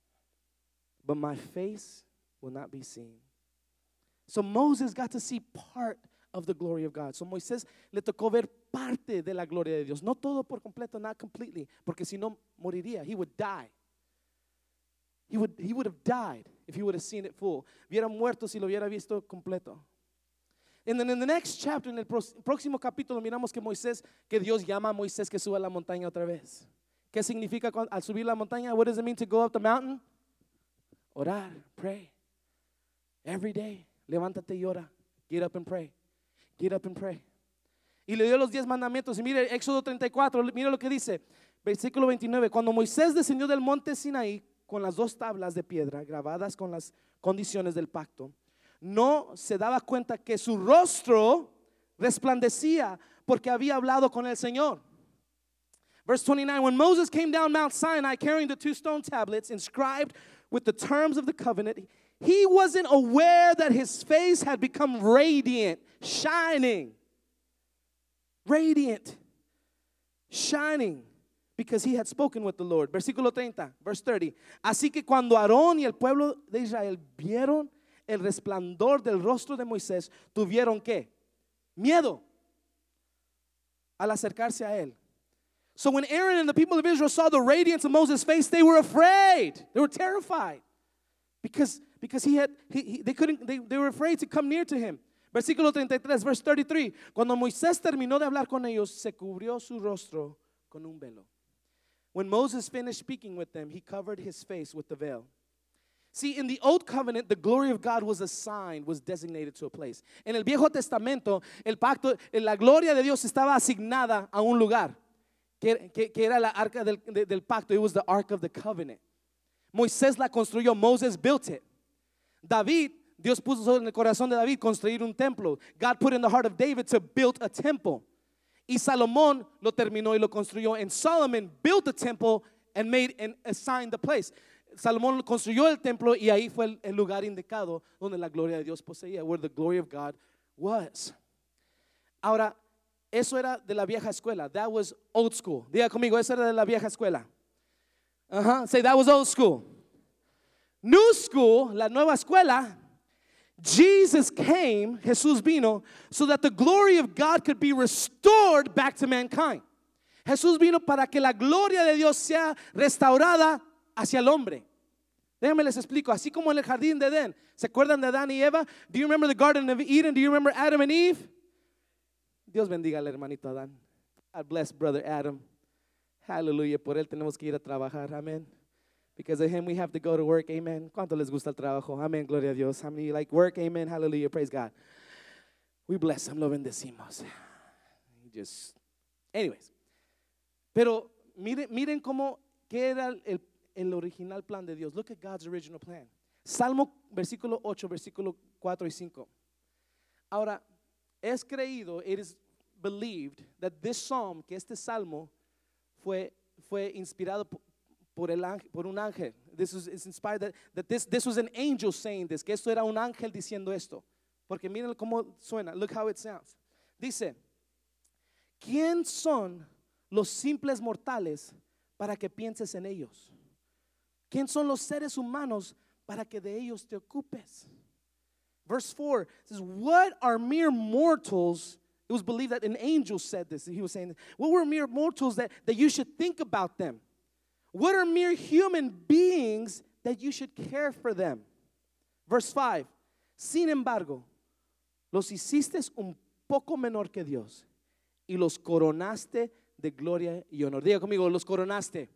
Speaker 2: but my face will not be seen. So Moses got to see part of the glory of God. So Moisés le tocó ver parte de la gloria de Dios. No todo por completo, not completely, porque si no moriría. He would die. He would, he would have died if he would have seen it full. Hubiera muerto si lo hubiera visto completo. And then in the next chapter, en el próximo capítulo, miramos que Moisés, que Dios llama a Moisés que suba a la montaña otra vez. ¿Qué significa al subir la montaña? What does it mean to go up the mountain? Orar, pray. Every day, levántate y ora. Get up and pray. Get up and pray. Y le dio los diez mandamientos. Y mire, Éxodo treinta y cuatro, mire lo que dice. Versículo veintinueve. Cuando Moisés descendió del monte Sinaí con las dos tablas de piedra grabadas con las condiciones del pacto, no se daba cuenta que su rostro resplandecía porque había hablado con el Señor. Verse twenty-nine, when Moses came down Mount Sinai carrying the two stone tablets inscribed with the terms of the covenant, he wasn't aware that his face had become radiant, shining. Radiant, shining, because he had spoken with the Lord. Versículo treinta, verse thirty. Así que cuando Aarón y el pueblo de Israel vieron el resplandor del rostro de Moisés, tuvieron ¿qué? Miedo al acercarse a él. So when Aaron and the people of Israel saw the radiance of Moses' face, they were afraid. They were terrified because because he had he, he, they couldn't they, they were afraid to come near to him. Versículo treinta y tres, verse thirty-three. Cuando Moisés terminó de hablar con ellos, se cubrió su rostro con un velo. When Moses finished speaking with them, he covered his face with the veil. See, in the Old Covenant, the glory of God was assigned, was designated to a place. En el Viejo Testamento, el pacto, la gloria de Dios estaba asignada a un lugar, que, que, que era la arca del, de, del pacto. It was the Ark of the Covenant. Moisés la construyó. Moses built it. David, Dios puso en el corazón de David construir un templo. God put in the heart of David to build a temple. Y Salomón lo terminó y lo construyó. And Solomon built the temple and made and assigned the place. Salomón construyó el templo y ahí fue el, el lugar indicado donde la gloria de Dios poseía, where the glory of God was. Ahora, eso era de la vieja escuela. That was old school. Diga conmigo, eso era de la vieja escuela. Uh-huh. Say, that was old school. New school, la nueva escuela. Jesus came, Jesús vino, so that the glory of God could be restored back to mankind. Jesús vino para que la gloria de Dios sea restaurada hacia el hombre. Déjenme les explico. Así como en el jardín de Edén. ¿Se acuerdan de Adán y Eva? Do you remember the Garden of Eden? Do you remember Adam and Eve? Dios bendiga al hermanito Adán. God bless brother Adam. Hallelujah. Por él tenemos que ir a trabajar. Amén. Because of him we have to go to work. Amen. ¿Cuánto les gusta el trabajo? Amén. Gloria a Dios. How many like work? Amen. Hallelujah. Praise God. We bless him. Lo bendecimos. Just, anyways. Pero miren, miren cómo que era el el original plan de Dios. Look at God's original plan. Salmo versículo ocho, versículo cuatro y cinco. Ahora, es creído, it is believed that this psalm, que este salmo fue fue inspirado por, por el ángel, por un ángel. This was is inspired that, that this this was an angel saying this, que esto era un ángel diciendo esto. Porque miren cómo suena. Look how it sounds. Dice, ¿quién son los simples mortales para que pienses en ellos? ¿Quién son los seres humanos para que de ellos te ocupes? Verse four says, what are mere mortals? It was believed that an angel said this. He was saying, what were mere mortals that, that you should think about them? What are mere human beings that you should care for them? Verse five, sin embargo, los hiciste un poco menor que Dios y los coronaste de gloria y honor. Diga conmigo, los coronaste.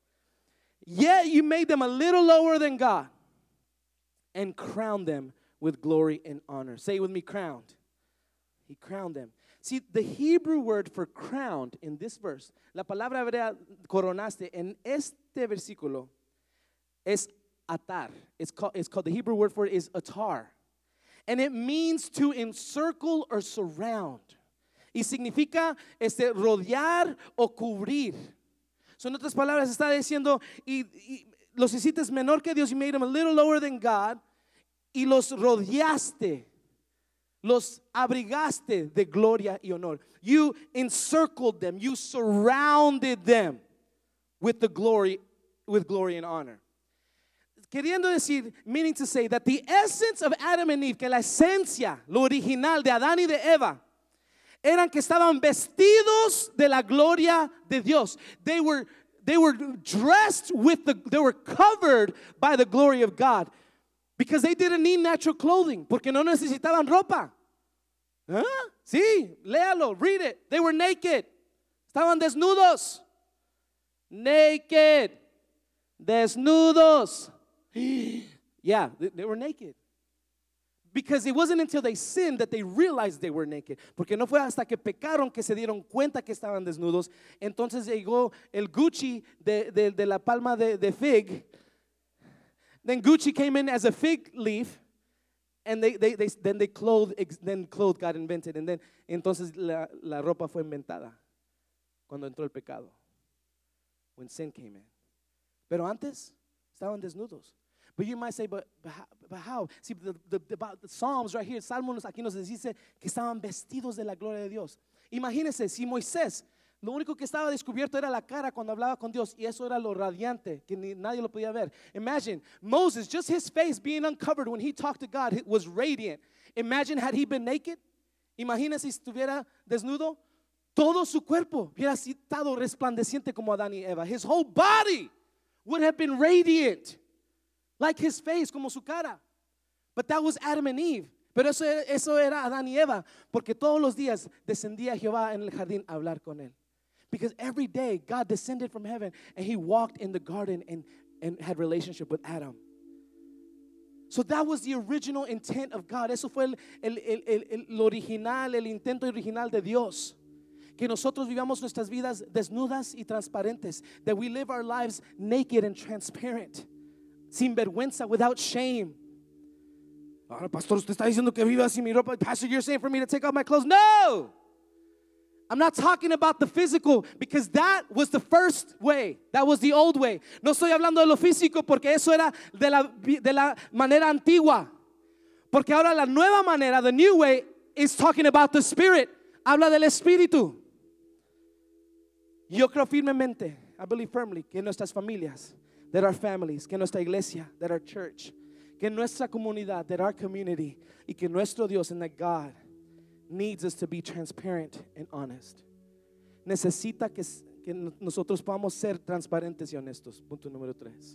Speaker 2: Yet you made them a little lower than God and crowned them with glory and honor. Say with me, crowned. He crowned them. See, the Hebrew word for crowned in this verse, la palabra hebrea coronaste en este versículo es atar. It's called, it's called, the Hebrew word for it is atar. And it means to encircle or surround. Y significa este, rodear o cubrir. So, en otras palabras, está diciendo, y, y los hiciste menor que Dios, you made them a little lower than God, y los rodeaste, los abrigaste de gloria y honor. You encircled them, you surrounded them with the glory, with glory and honor. Queriendo decir, meaning to say that the essence of Adam and Eve, que la esencia, lo original de Adán y de Eva, eran que estaban vestidos de la gloria de Dios. They were, they were dressed with the, they were covered by the glory of God. Because they didn't need natural clothing. Porque no necesitaban ropa. ¿Ah? Sí, léalo, read it. They were naked. Estaban desnudos. Naked. Desnudos. Yeah, they, they were naked. Because it wasn't until they sinned that they realized they were naked. Porque no fue hasta que pecaron que se dieron cuenta que estaban desnudos. Entonces llegó el Gucci de, de, de la palma de, de fig. Then Gucci came in as a fig leaf, and they, they, they then they clothed, then clothes got invented, and then entonces la, la ropa fue inventada cuando entró el pecado, when sin came in. Pero antes estaban desnudos. But you might say, but, but, how, but how? See, the, the, the, the Psalms right here, Salmos aquí nos dice que estaban vestidos de la gloria de Dios. Imagínense, si Moisés, lo único que estaba descubierto era la cara cuando hablaba con Dios, y eso era lo radiante, que ni, nadie lo podía ver. Imagine, Moses, just his face being uncovered when he talked to God, it was radiant. Imagine had he been naked. Imagina si estuviera desnudo. Todo su cuerpo hubiera estado resplandeciente como Adán y Eva. His whole body would have been radiant, like his face, como su cara. But that was Adam and Eve. Pero eso, eso era Adán y Eva, porque todos los días descendía Jehová en el jardín a hablar con él. Because every day God descended from heaven and he walked in the garden and, and had relationship with Adam. So that was the original intent of God. Eso fue el, el, el, el, el original, el intento original de Dios. Que nosotros vivamos nuestras vidas desnudas y transparentes. That we live our lives naked and transparent. Sin vergüenza, without shame. Ahora, pastor, usted está diciendo que viva sin mi ropa. Pastor, you're saying for me to take off my clothes? No! I'm not talking about the physical, because that was the first way. That was the old way. No estoy hablando de lo físico porque eso era de la, de la manera antigua. Porque ahora la nueva manera, the new way, is talking about the spirit. Habla del espíritu. Yo creo firmemente, I believe firmly, que nuestras familias, that our families, que nuestra iglesia, that our church, que nuestra comunidad, that our community, y que nuestro Dios, and that God needs us to be transparent and honest. Necesita que, que nosotros podamos ser transparentes y honestos. Punto número tres.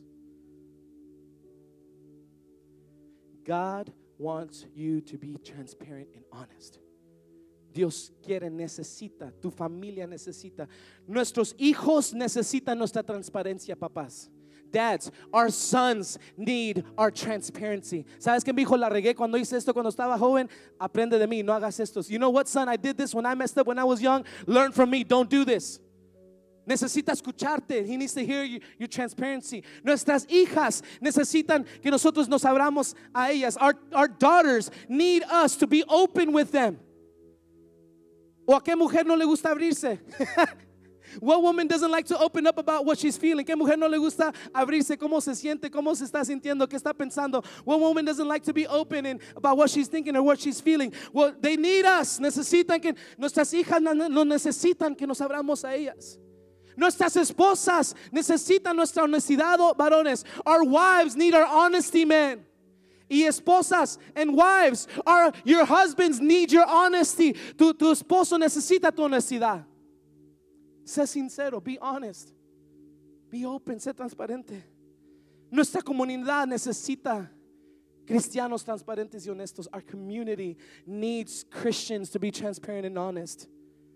Speaker 2: God wants you to be transparent and honest. Dios quiere, necesita, tu familia necesita, nuestros hijos necesitan nuestra transparencia, papás. Dads, our sons need our transparency. ¿Sabes qué me dijo? La regué cuando hice esto cuando estaba joven. Aprende de mí, no hagas esto. You know what, son? I did this when I messed up when I was young. Learn from me, don't do this. Necesita escucharte. He needs to hear you, your transparency. Nuestras hijas necesitan que nosotros nos abramos a ellas. Our, our daughters need us to be open with them. ¿O a qué mujer no le gusta abrirse? What woman doesn't like to open up about what she's feeling? ¿Qué mujer no le gusta abrirse? ¿Cómo se siente? ¿Cómo se está sintiendo? ¿Qué está pensando? What woman doesn't like to be open and about what she's thinking or what she's feeling? Well, they need us. Necesitan que nuestras hijas no necesitan que nos abramos a ellas. Nuestras esposas necesitan nuestra honestidad, varones. Our wives need our honesty, men. Y esposas and wives, our, your husbands need your honesty. Tu, tu esposo necesita tu honestidad. Sé sincero, be honest. Be open, sé transparente. Nuestra comunidad necesita cristianos transparentes y honestos. Our community needs Christians to be transparent and honest.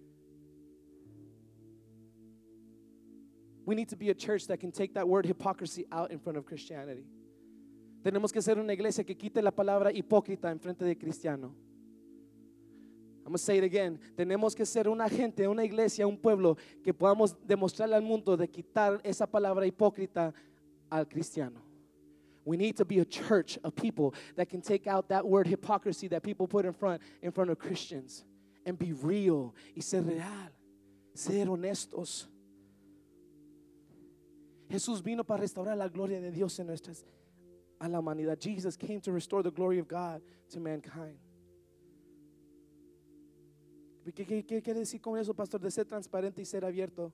Speaker 2: We need to be a church that can take that word hypocrisy out in front of Christianity. Tenemos que ser una iglesia que quite la palabra hipócrita en frente de cristiano. I'm going to say it again. Tenemos que ser una gente, una iglesia, un pueblo que podamos demostrarle al mundo de quitar esa palabra hipócrita al cristiano. We need to be a church of people that can take out that word hypocrisy that people put in front in front of Christians and be real y ser real, ser honestos. Jesús vino para restaurar la gloria de Dios en nuestras a la humanidad. Jesus came to restore the glory of God to mankind. ¿Qué, qué, qué quiere decir con eso, pastor? De ser transparente y ser abierto.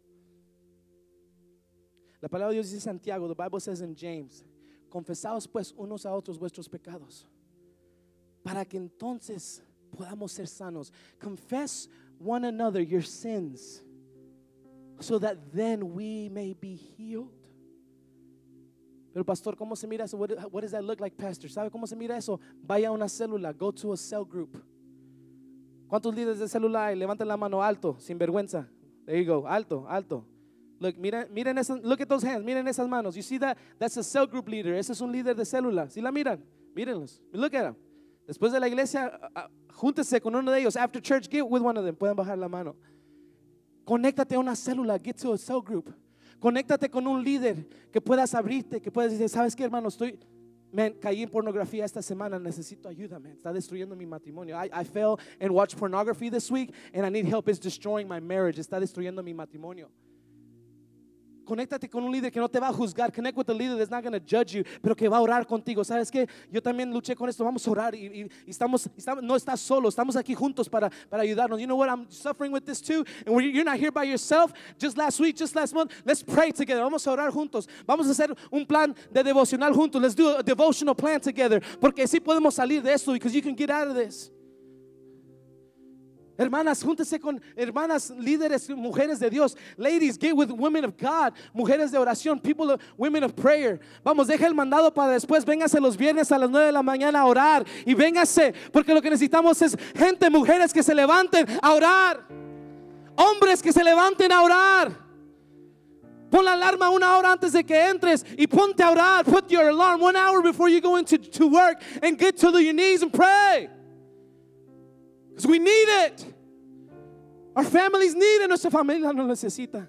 Speaker 2: La palabra de Dios dice en Santiago, the Bible says in James, confesaos pues unos a otros vuestros pecados, para que entonces podamos ser sanos. Confess one another your sins, so that then we may be healed. Pero pastor, ¿cómo se mira eso? What, what does that look like, pastor? ¿Sabe cómo se mira eso? Vaya a una célula, go to a cell group. ¿Cuántos líderes de célula hay? Levanten la mano alto, sin vergüenza. There you go, alto, alto. Look, miren, miren esas, look at those hands, miren esas manos. You see that? That's a cell group leader. Ese es un líder de célula. ¿Sí la miran? Mírenlos. Look at them. Después de la iglesia, uh, júntese con uno de ellos. After church, get with one of them. Pueden bajar la mano. Conéctate a una célula, get to a cell group. Conéctate con un líder que puedas abrirte, que puedas decir, ¿sabes qué, hermano? Estoy, man, caí en pornografía esta semana, necesito ayuda, man. Está destruyendo mi matrimonio. I, I fell and watched pornography this week and I need help. It's destroying my marriage. Está destruyendo mi matrimonio. Conéctate con un líder que no te va a juzgar. Connect with a leader that's not going to judge you, pero que va a orar contigo. ¿Sabes qué? Yo también luché con esto. Vamos a orar y, y, y estamos, estamos, no estás solo. Estamos aquí juntos para, para ayudarnos. You know what? I'm suffering with this too. And you're not here by yourself. Just last week, just last month, let's pray together. Vamos a orar juntos. Vamos a hacer un plan de devocional juntos. Let's do a devotional plan together. Porque sí podemos salir de esto, because you can get out of this. Hermanas, júntese con hermanas líderes, mujeres de Dios. Ladies, get with women of God, mujeres de oración, people of, women of prayer. Vamos, deja el mandado para después. Véngase los viernes a las nueve de la mañana a orar. Y véngase, porque lo que necesitamos es gente, mujeres que se levanten a orar. Hombres que se levanten a orar. Pon la alarma una hora antes de que entres y ponte a orar. Put your alarm one hour before you go into to work and get to your knees and pray. Because we need it. Our families need it. Nuestra familia lo necesita.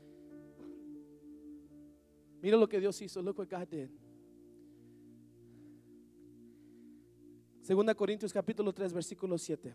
Speaker 2: Mira lo que Dios hizo. Look what God did. Segunda Corintios capítulo tres versículo siete.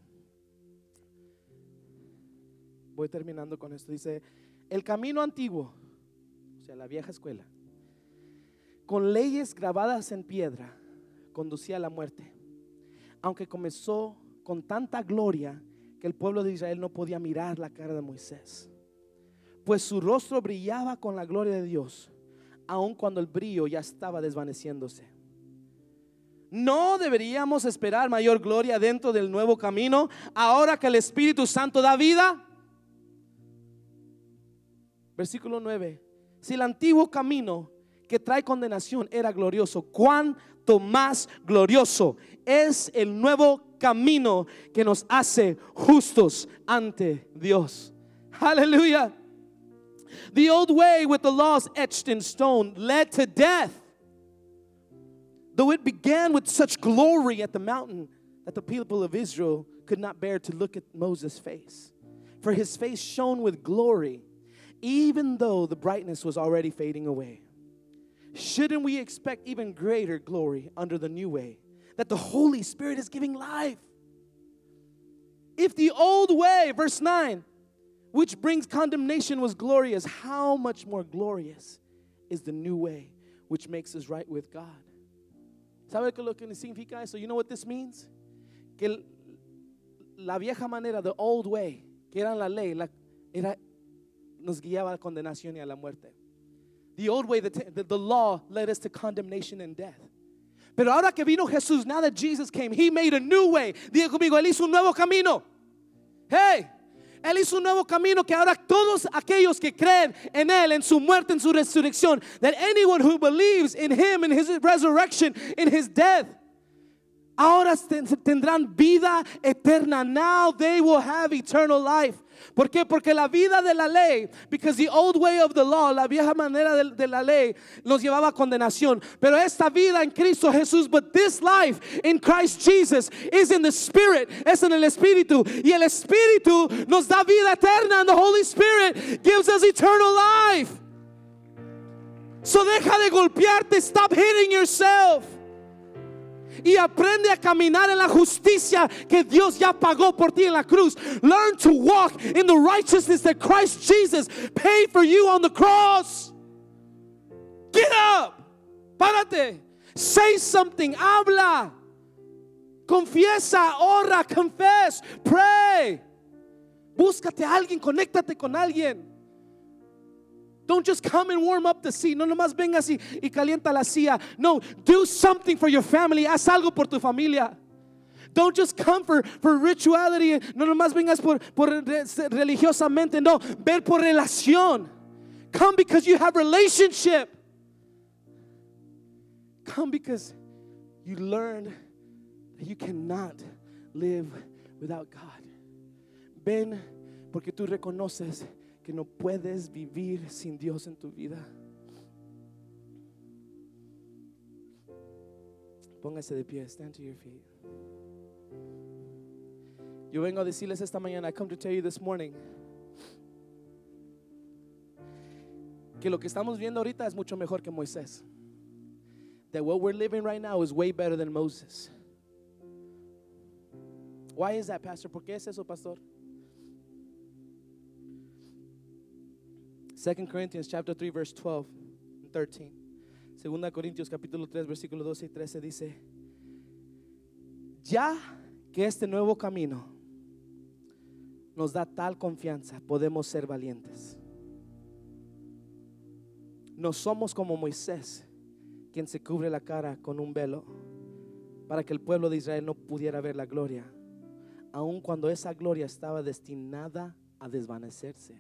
Speaker 2: Voy terminando con esto. Dice, el camino antiguo, o sea, la vieja escuela, con leyes grabadas en piedra, conducía a la muerte, aunque comenzó con tanta gloria que el pueblo de Israel no podía mirar la cara de Moisés, pues su rostro brillaba con la gloria de Dios, aun cuando el brillo ya estaba desvaneciéndose. ¿No deberíamos esperar mayor gloria dentro del nuevo camino, ahora que el Espíritu Santo da vida? Versículo nueve. Si el antiguo camino que trae condenación era glorioso, cuánto más glorioso es el nuevo camino que nos hace justos ante Dios. Hallelujah. The old way with the laws etched in stone led to death, though it began with such glory at the mountain that the people of Israel could not bear to look at Moses' face, for his face shone with glory, even though the brightness was already fading away. Shouldn't we expect even greater glory under the new way that the Holy Spirit is giving life? If the old way, verse nine, which brings condemnation, was glorious. How much more glorious is the new way, which makes us right with God? ¿Sabe qué lo que significa eso? You know what this means? Que el, la vieja manera, the old way, que era la ley, la, era, nos guiaba a la condenación y a la muerte. The old way, the, the, the law led us to condemnation and death. Pero ahora que vino Jesús, now that Jesus came, He made a new way. Diga conmigo, Él hizo un nuevo camino. Hey, Él hizo un nuevo camino que ahora todos aquellos que creen en Él, en su muerte, en su resurrección, that anyone who believes in Him, in His resurrection, in His death, ahora tendrán vida eterna. Now they will have eternal life. ¿Por qué? Porque la vida de la ley, because the old way of the law, la vieja manera de, de la ley, nos llevaba a condenación. Pero esta vida en Cristo Jesús, but this life in Christ Jesus is in the Spirit, es en el Espíritu. Y el Espíritu nos da vida eterna, and the Holy Spirit gives us eternal life. So deja de golpearte, stop hitting yourself. Y aprende a caminar en la justicia que Dios ya pagó por ti en la cruz. Learn to walk in the righteousness that Christ Jesus paid for you on the cross. Get up. Párate. Say something. Habla. Confiesa. Ora. Confess. Pray. Búscate a alguien. Conéctate con alguien. Don't just come and warm up the seat. No nomás vengas y, y calienta la silla. No, do something for your family. Haz algo por tu familia. Don't just come for, for rituality. No nomás vengas por, por religiosamente. No, ver por relación. Come because you have relationship. Come because you learned that you cannot live without God. Ven porque tú reconoces que no puedes vivir sin Dios en tu vida. Póngase de pie, stand to your feet. Yo vengo a decirles esta mañana, I come to tell you this morning, que lo que estamos viendo ahorita es mucho mejor que Moisés. That what we're living right now is way better than Moses. Why is that, Pastor? ¿Por qué es eso, Pastor? Second Corinthians chapter three verse twelve and thirteen. Segunda Corintios capítulo tres versículo doce y trece dice: ya que este nuevo camino nos da tal confianza, podemos ser valientes. No somos como Moisés, quien se cubre la cara con un velo para que el pueblo de Israel no pudiera ver la gloria, aun cuando esa gloria estaba destinada a desvanecerse.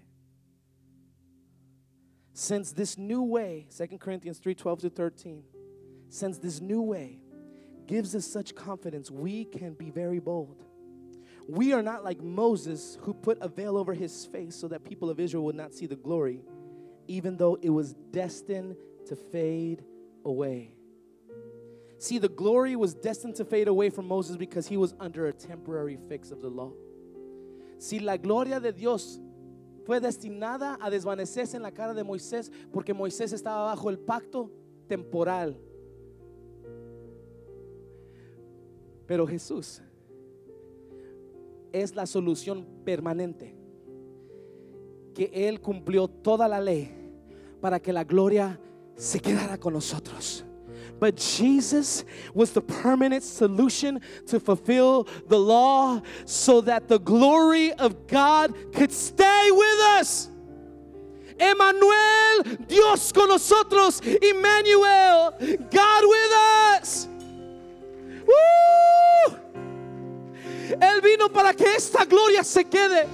Speaker 2: Since this new way, Second Corinthians three twelve to thirteen, since this new way gives us such confidence, we can be very bold. We are not like Moses, who put a veil over his face so that people of Israel would not see the glory, even though it was destined to fade away. See, the glory was destined to fade away from Moses because he was under a temporary fix of the law. Si la gloria de Dios fue destinada a desvanecerse en la cara de Moisés porque Moisés estaba bajo el pacto temporal. Pero Jesús es la solución permanente, que Él cumplió toda la ley para que la gloria se quedara con nosotros. But Jesus was the permanent solution to fulfill the law so that the glory of God could stay with us. Emmanuel, Dios con nosotros. Emmanuel, God with us. ¡Woo! Él vino para que esta gloria se quede.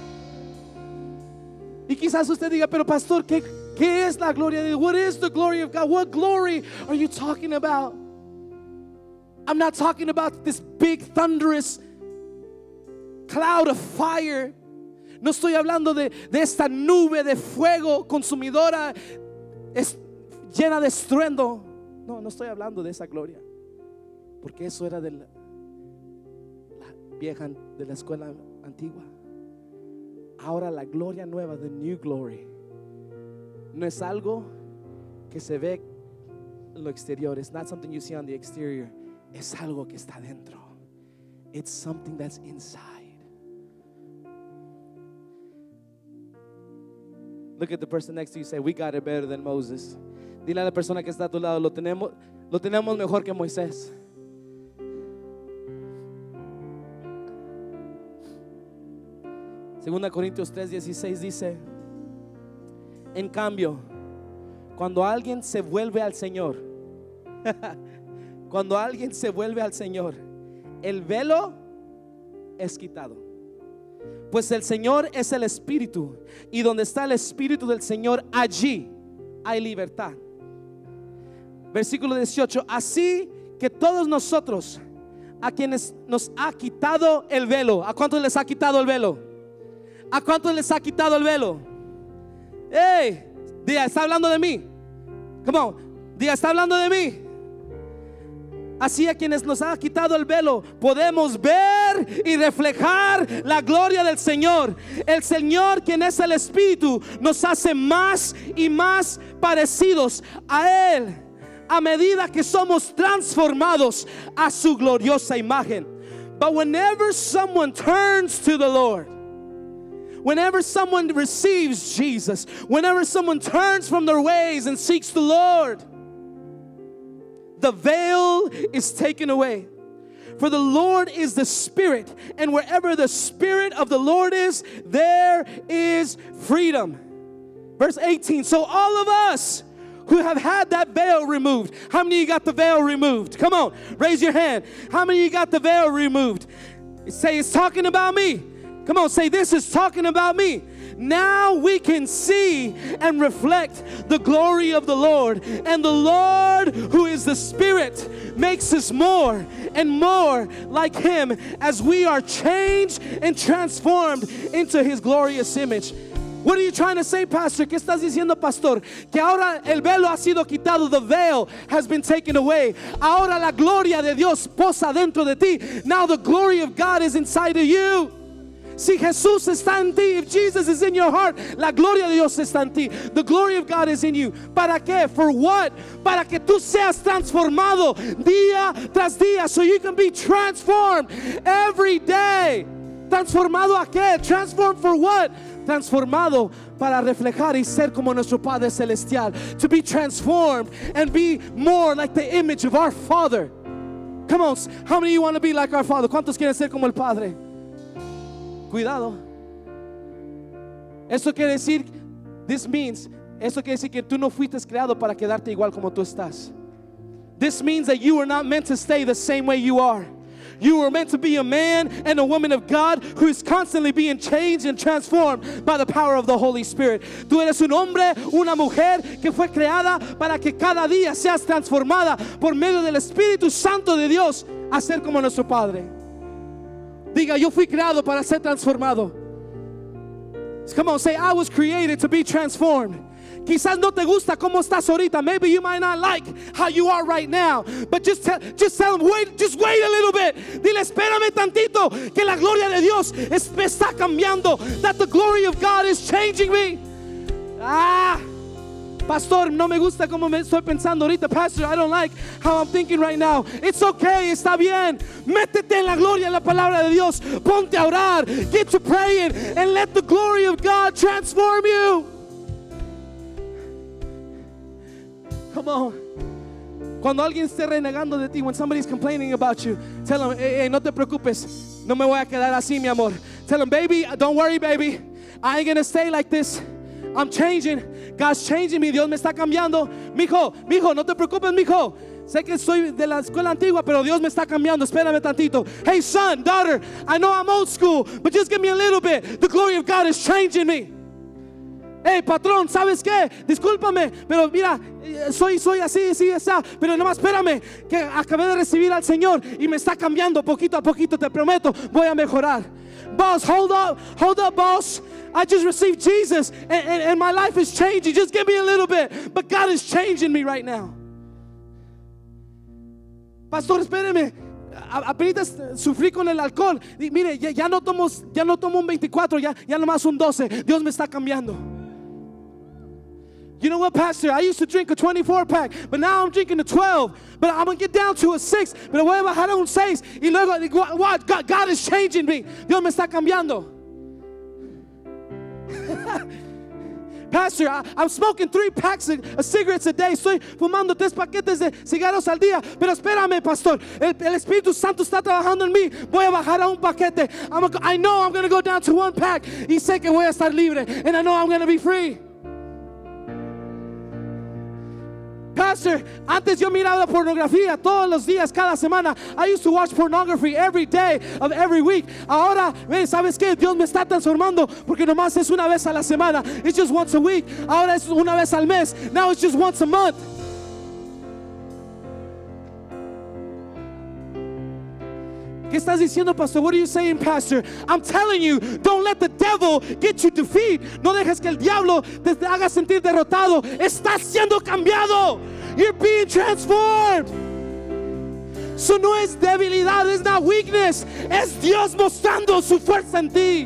Speaker 2: Y quizás usted diga, pero pastor, ¿qué, qué es la gloria de Dios? What is the glory of God? What glory are you talking about? I'm not talking about this big thunderous cloud of fire. No estoy hablando de, de esta nube de fuego consumidora es, llena de estruendo. No, no estoy hablando de esa gloria, porque eso era de la, la vieja, de la escuela antigua. Ahora la gloria nueva, the new glory, no es algo que se ve en lo exterior. It's not something you see on the exterior. Es algo que está dentro. It's something that's inside. Look at the person next to you. Say, we got it better than Moses. Dile a la persona que está a tu lado, lo tenemos, lo tenemos mejor que Moisés. Segunda Corintios tres dieciséis dice, en cambio, cuando alguien se vuelve al Señor, cuando alguien se vuelve al Señor, el velo es quitado. Pues el Señor es el Espíritu, y donde está el Espíritu del Señor, allí hay libertad. Versículo dieciocho, así que todos nosotros, a quienes nos ha quitado el velo, ¿a cuántos les ha quitado el velo? ¿A cuántos les ha quitado el velo? Hey, diga, está hablando de mí. Come on, diga, está hablando de mí. Así a quienes nos ha quitado el velo, podemos ver y reflejar la gloria del Señor. El Señor, quien es el Espíritu, nos hace más y más parecidos a Él, a medida que somos transformados a su gloriosa imagen. But whenever someone turns to the Lord, whenever someone receives Jesus, whenever someone turns from their ways and seeks the Lord, the veil is taken away. For the Lord is the Spirit, and wherever the Spirit of the Lord is, there is freedom. Verse eighteen, so all of us who have had that veil removed. How many of you got the veil removed? Come on, raise your hand. How many of you got the veil removed? Say, it's talking about me. Come on, say, this is talking about me. Now we can see and reflect the glory of the Lord. And the Lord, who is the Spirit, makes us more and more like Him as we are changed and transformed into His glorious image. What are you trying to say, Pastor? ¿Qué estás diciendo, Pastor? Que ahora el velo ha sido quitado. The veil has been taken away. Ahora la gloria de Dios posa dentro de ti. Now the glory of God is inside of you. Si Jesús está en ti, if Jesus is in your heart, la gloria de Dios está en ti. The glory of God is in you. ¿Para qué? For what? Para que tú seas transformado día tras día, so you can be transformed every day. ¿Transformado a qué? Transformed for what? Transformado para reflejar y ser como nuestro Padre Celestial. To be transformed and be more like the image of our Father. Come on, how many of you want to be like our Father? ¿Cuántos quieren ser como el Padre? Cuidado. Eso quiere decir, this means, eso quiere decir que tú no fuiste creado para quedarte igual como tú estás. This means that you were not meant to stay the same way you are. You were meant to be a man and a woman of God who is constantly being changed and transformed by the power of the Holy Spirit. Tú eres un hombre, una mujer que fue creada para que cada día seas transformada por medio del Espíritu Santo de Dios a ser como nuestro Padre. Diga, yo fui creado para ser transformado. Come on, say, I was created to be transformed. Quizás no te gusta cómo estás ahorita. Maybe you might not like how you are right now. But just tell, just tell them, wait, just wait a little bit. Dile, espérame tantito, que la gloria de Dios es, me está cambiando. That the glory of God is changing me. Ah, Pastor, no me gusta cómo me estoy pensando ahorita. Pastor, I don't like how I'm thinking right now. It's okay, está bien. Métete en la gloria, en la palabra de Dios. Ponte a orar, get to praying, and let the glory of God transform you. Come on. Cuando alguien esté renegando de ti, when somebody's complaining about you, tell them, hey, hey, no te preocupes, no me voy a quedar así, mi amor. Tell them, baby, don't worry, baby, I ain't gonna stay like this. I'm changing. God's changing me. Dios me está cambiando. Mijo, mijo, no te preocupes, mijo. Sé que soy de la escuela antigua, pero Dios me está cambiando. Espérame tantito. Hey, son, daughter, I know I'm old school, but just give me a little bit. The glory of God is changing me. Hey, patrón, ¿sabes qué? Discúlpame, pero mira, soy, soy así, así, así. Pero nomás espérame, que acabé de recibir al Señor y me está cambiando poquito a poquito. Te prometo, voy a mejorar. Boss, hold up, hold up, boss. I just received Jesus and, and, and my life is changing. Just give me a little bit. But God is changing me right now. Pastor, espéreme. Apenas sufrí con el alcohol. Y mire, ya, ya, no tomo, ya no tomo un veinticuatro, ya, ya nomás un doce. Dios me está cambiando. You know what, Pastor? I used to drink a twenty-four pack, but now I'm drinking a twelve. But I'm going to get down to a six. Pero voy a bajar a un seis. Y luego, what? God, God is changing me. Dios me está cambiando. Pastor, I, I'm smoking three packs of, of cigarettes a day. Estoy fumando tres paquetes de cigarros al día. Pero espérame, pastor. El, el Espíritu Santo está trabajando en mí. Voy a bajar a un paquete. I'm a, I know I'm going to go down to one pack. Y sé que voy a estar libre. And I know I'm going to be free. Pastor, antes yo miraba pornografía todos los días, cada semana. I used to watch pornography every day of every week. Ahora, ¿sabes qué? Dios me está transformando porque nomás es una vez a la semana. It's just once a week. Ahora es una vez al mes. Now it's just once a month. ¿Qué estás diciendo, pastor? What are you saying, pastor? I'm telling you, don't let the devil get you defeat. No dejes que el diablo te haga sentir derrotado. Estás siendo cambiado. You're being transformed. Eso no es debilidad, es not weakness. Es Dios mostrando su fuerza en ti.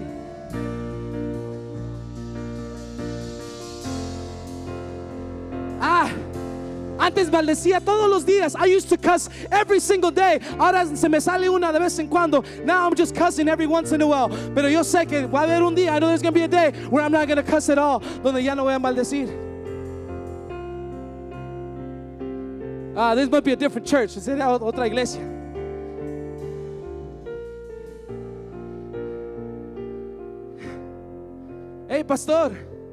Speaker 2: Ah. Antes maldecía todos los días. I used to cuss every single day. Ahora se me sale una de vez en cuando. Now I'm just cussing every once in a while. Pero yo sé que va a haber un día, I know there's going to be a day where I'm not going to cuss at all, donde ya no voy a maldecir. Ah, this might be a different church. Sería otra iglesia. Hey, pastor.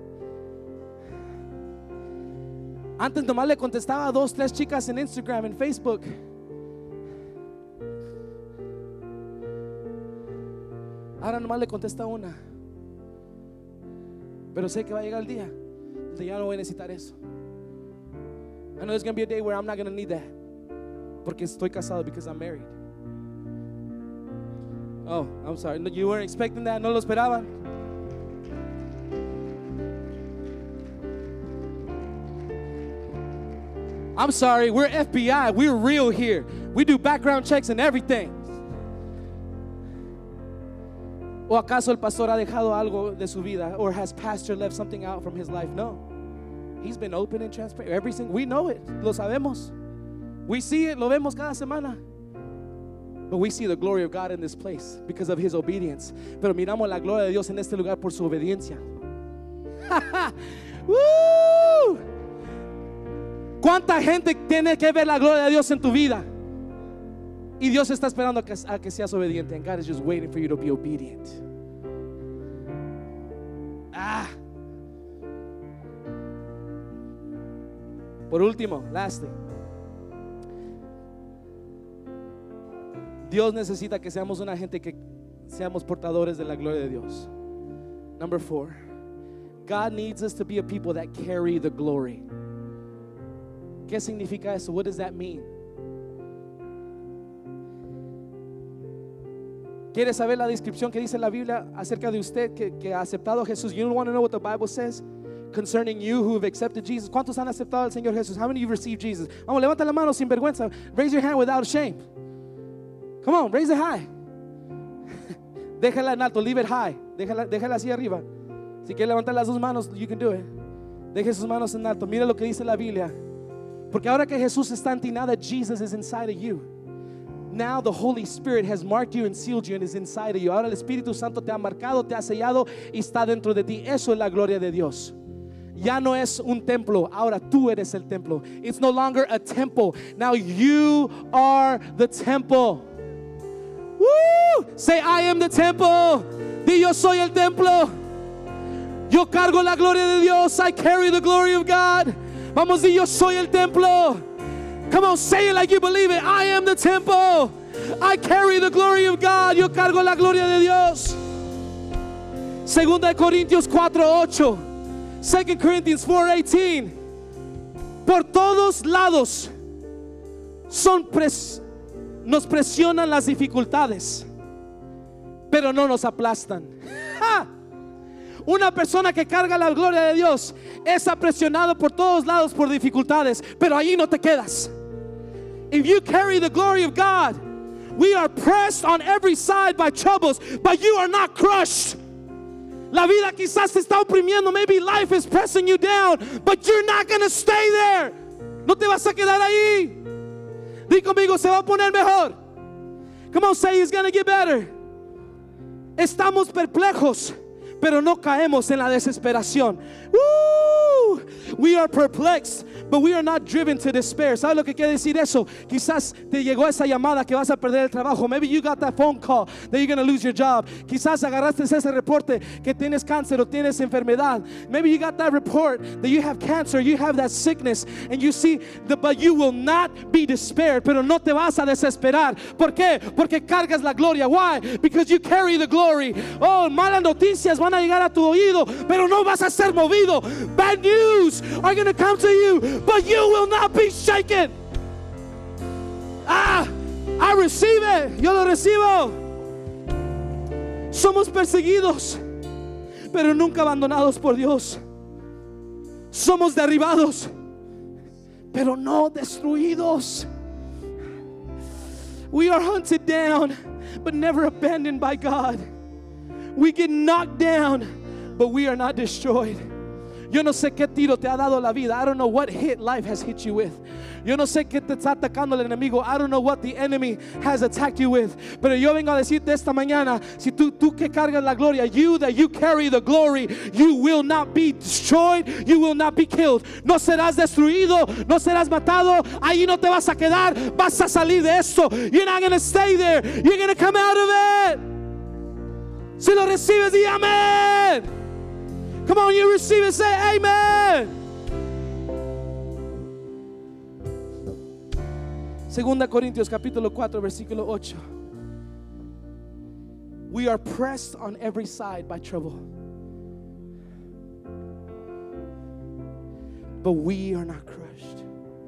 Speaker 2: Antes nomás le contestaba a dos, tres chicas en Instagram, en Facebook. Ahora nomás le contesta una. Pero sé que va a llegar el día donde ya no voy a necesitar eso. I know there's going to be a day where I'm not going to need that. Porque estoy casado, because I'm married. Oh, I'm sorry. No, you weren't expecting that. No lo esperaban. I'm sorry, we're F B I. We're real here. We do background checks and everything. ¿O acaso el pastor ha dejado algo de su vida? Or has pastor left something out from his life? No. He's been open and transparent. Every single, we know it. Lo sabemos. We see it. Lo vemos cada semana. But we see the glory of God in this place because of his obedience. Pero miramos la gloria de Dios en este lugar por su obediencia. Woo! ¿Cuánta gente tiene que ver la gloria de Dios en tu vida? Y Dios está esperando a que, a que seas obediente. And God is just waiting for you to be obedient. Ah. Por último, lastly, Dios necesita que seamos una gente que seamos portadores de la gloria de Dios. Number four, God needs us to be a people that carry the glory. ¿Qué significa eso? What does that mean? ¿Quiere saber la descripción que dice la Biblia acerca de usted que, que ha aceptado a Jesús? You want to know what the Bible says concerning you who have accepted Jesus? ¿Cuántos han aceptado al Señor Jesús? How many of you received Jesus? Vamos, levanta la mano sin vergüenza. Raise your hand without shame. Come on, raise it high. Déjala en alto, leave it high. Déjala, déjala así arriba. Si quiere levantar las dos manos, you can do it. Deje sus manos en alto. Mira lo que dice la Biblia. Porque ahora que Jesús está en ti, now that Jesus is inside of you, now the Holy Spirit has marked you and sealed you and is inside of you. Ahora el Espíritu Santo te ha marcado, te ha sellado y está dentro de ti. Eso es la gloria de Dios. Ya no es un templo, ahora tú eres el templo. It's no longer a temple. Now you are the temple. Woo! Say, I am the temple. Di, yo soy el templo. Yo cargo la gloria de Dios. I carry the glory of God. Vamos, di, yo soy el templo. Come on, say it like you believe it. I am the temple. I carry the glory of God. Yo cargo la gloria de Dios. Segunda de Corintios cuatro ocho. Second Corinthians four eighteen. Por todos lados son pres nos presionan las dificultades, pero no nos aplastan. ¡Ja! Una persona que carga la gloria de Dios es presionado por todos lados por dificultades, pero allí no te quedas. If you carry the glory of God, we are pressed on every side by troubles, but you are not crushed. La vida quizás te está oprimiendo. Maybe life is pressing you down, but you're not going to stay there. No te vas a quedar ahí. Di conmigo, se va a poner mejor. Come on, say it's going to get better. Estamos perplejos, pero no caemos en la desesperación. Woo! We are perplexed, but we are not driven to despair. ¿Sabes lo que quiere decir eso? Quizás te llegó esa llamada que vas a perder el trabajo. Maybe you got that phone call that you're going to lose your job. Quizás agarraste ese reporte que tienes cáncer o tienes enfermedad. Maybe you got that report that you have cancer, you have that sickness, and you see the, but you will not be despaired. Pero no te vas a desesperar. ¿Por qué? Porque cargas la gloria. Why? Because you carry the glory. Oh, malas noticias van a llegar a tu oído, pero no vas a ser movido. Bad news are going to come to you, but you will not be shaken. Ah, I receive it. Yo lo recibo. Somos perseguidos, pero nunca abandonados por Dios. Somos derribados, pero no destruidos. We are hunted down, but never abandoned by God. We get knocked down, but we are not destroyed. Yo no sé qué tiro te ha dado la vida. I don't know what hit life has hit you with. Yo no sé qué te está atacando el enemigo. I don't know what the enemy has attacked you with. Pero yo vengo a decirte esta mañana, si tú, tú que cargas la gloria, you that you carry the glory, you will not be destroyed, you will not be killed. No serás destruido, no serás matado. Ahí no te vas a quedar, vas a salir de esto. You're not going to stay there, you're going to come out of it. Si lo recibes, di amén. Come on, you receive it, say amen. Segunda Corintios capítulo cuatro versículo ocho. We are pressed on every side by trouble, but we are not crushed.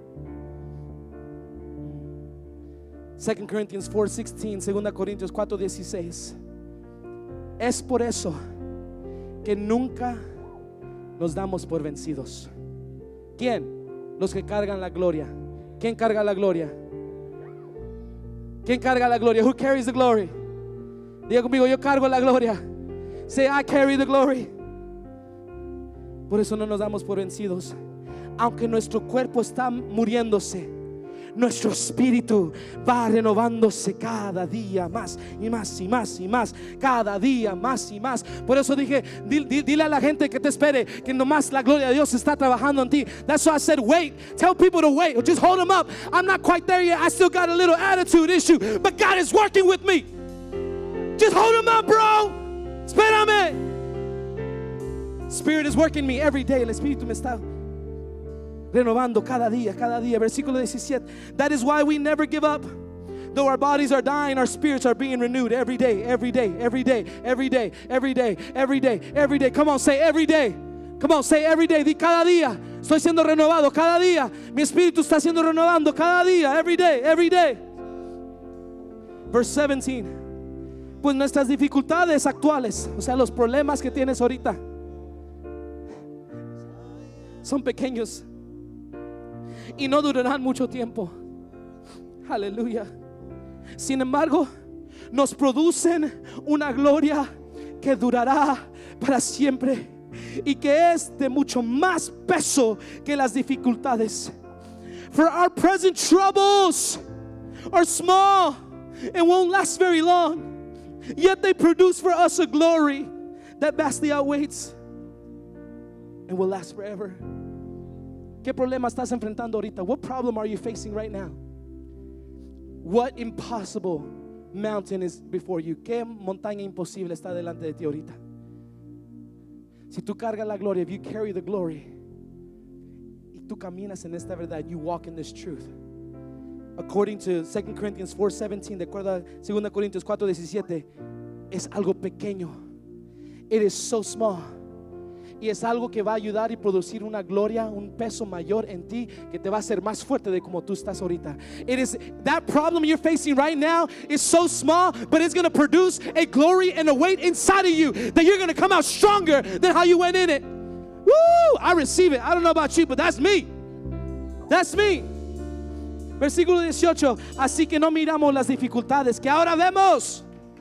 Speaker 2: Second Corinthians four sixteen, Segunda Corintios cuatro dieciséis. Es por eso que nunca nos damos por vencidos. ¿Quién? Los que cargan la gloria. ¿Quién carga la gloria? ¿Quién carga la gloria? Who carries the glory? Diga conmigo, yo cargo la gloria. Say, I carry the glory. Por eso no nos damos por vencidos. Aunque nuestro cuerpo está muriéndose, nuestro espíritu va renovándose cada día más y más y más y más, cada día más y más. Por eso dije, dile, dile a la gente que te espere que nomás la gloria de Dios está trabajando en ti. That's why I said wait. Tell people to wait, or just hold them up. I'm not quite there yet. I still got a little attitude issue, but God is working with me. Just hold them up, bro. Espérame. Spirit is working me every day. El Espíritu me está renovando cada día, cada día. Versículo diecisiete. That is why we never give up. Though our bodies are dying, our spirits are being renewed every day, every day, every day, every day, every day, every day, every day. Come on, say every day. Come on, say every day. Di cada día. Estoy siendo renovado cada día. Mi espíritu está siendo renovando cada día. Every day, every day. Verse seventeen. Pues nuestras dificultades actuales, o sea, los problemas que tienes ahorita, son pequeños y no durarán mucho tiempo. Aleluya. Sin embargo, nos producen una gloria que durará para siempre y que es de mucho más peso que las dificultades. For our present troubles are small and won't last very long, yet they produce for us a glory that vastly outweighs and will last forever. ¿Qué problema estás enfrentando ahorita? What problem are you facing right now? What impossible mountain is before you? ¿Qué montaña imposible está delante de ti ahorita? Si tú cargas la gloria, if you carry the glory, y tú caminas en esta verdad, you walk in this truth. According to Second Corinthians four seventeen, de acuerdo a Segunda Corintios cuatro diecisiete, es algo pequeño. It is so small. Y es algo que va a ayudar y producir una gloria, un peso mayor en ti, que te va a hacer más fuerte de como tú estás ahorita. It is that problem you're facing right now is so small, but it's going to produce a glory and a weight inside of you that you're going to come out stronger than how you went in it. Woo! I receive it. I don't know about you, but that's me. That's me. Versículo dieciocho. Así que no miramos las dificultades que ahora vemos.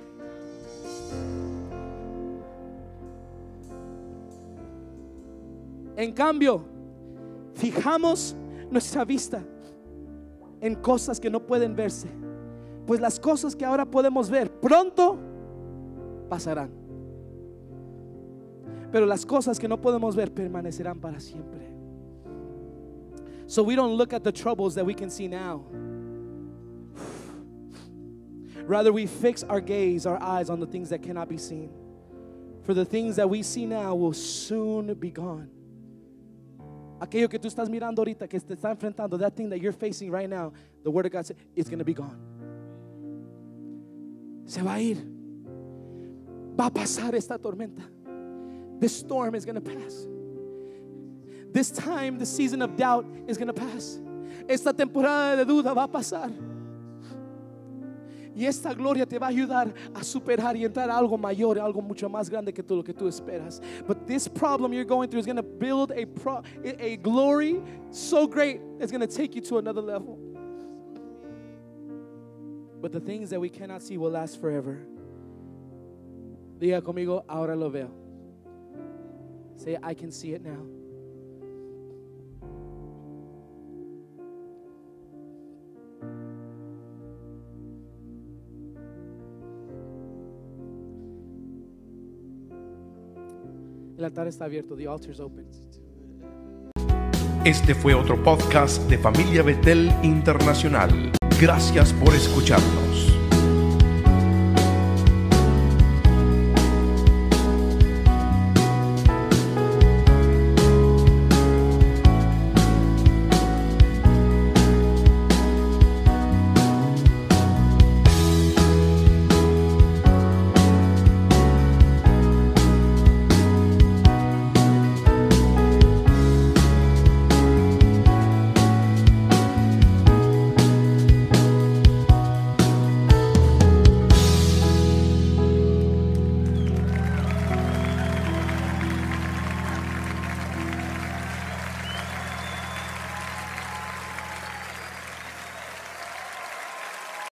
Speaker 2: En cambio, fijamos nuestra vista en cosas que no pueden verse, pues las cosas que ahora podemos ver pronto pasarán. Pero las cosas que no podemos ver permanecerán para siempre. So we don't look at the troubles that we can see now. Rather, we fix our gaze, our eyes on the things that cannot be seen. For the things that we see now will soon be gone. Aquello que tú estás mirando ahorita, que te está enfrentando, that thing that you're facing right now, the Word of God says, it's going to be gone. Se va a ir. Va a pasar esta tormenta. This storm is going to pass. This time, the season of doubt is going to pass. Esta temporada de duda va a pasar. Y esta gloria te va a ayudar a superar y entrar a algo mayor, algo mucho más grande que todo lo que tú esperas. But this problem you're going through is going to build a pro, a glory so great it's going to take you to another level. But the things that we cannot see will last forever. Diga conmigo, ahora lo veo. Say, I can see it now. El altar está abierto. The altar is open.
Speaker 1: Este fue otro podcast de Familia Betel Internacional. Gracias por escucharnos.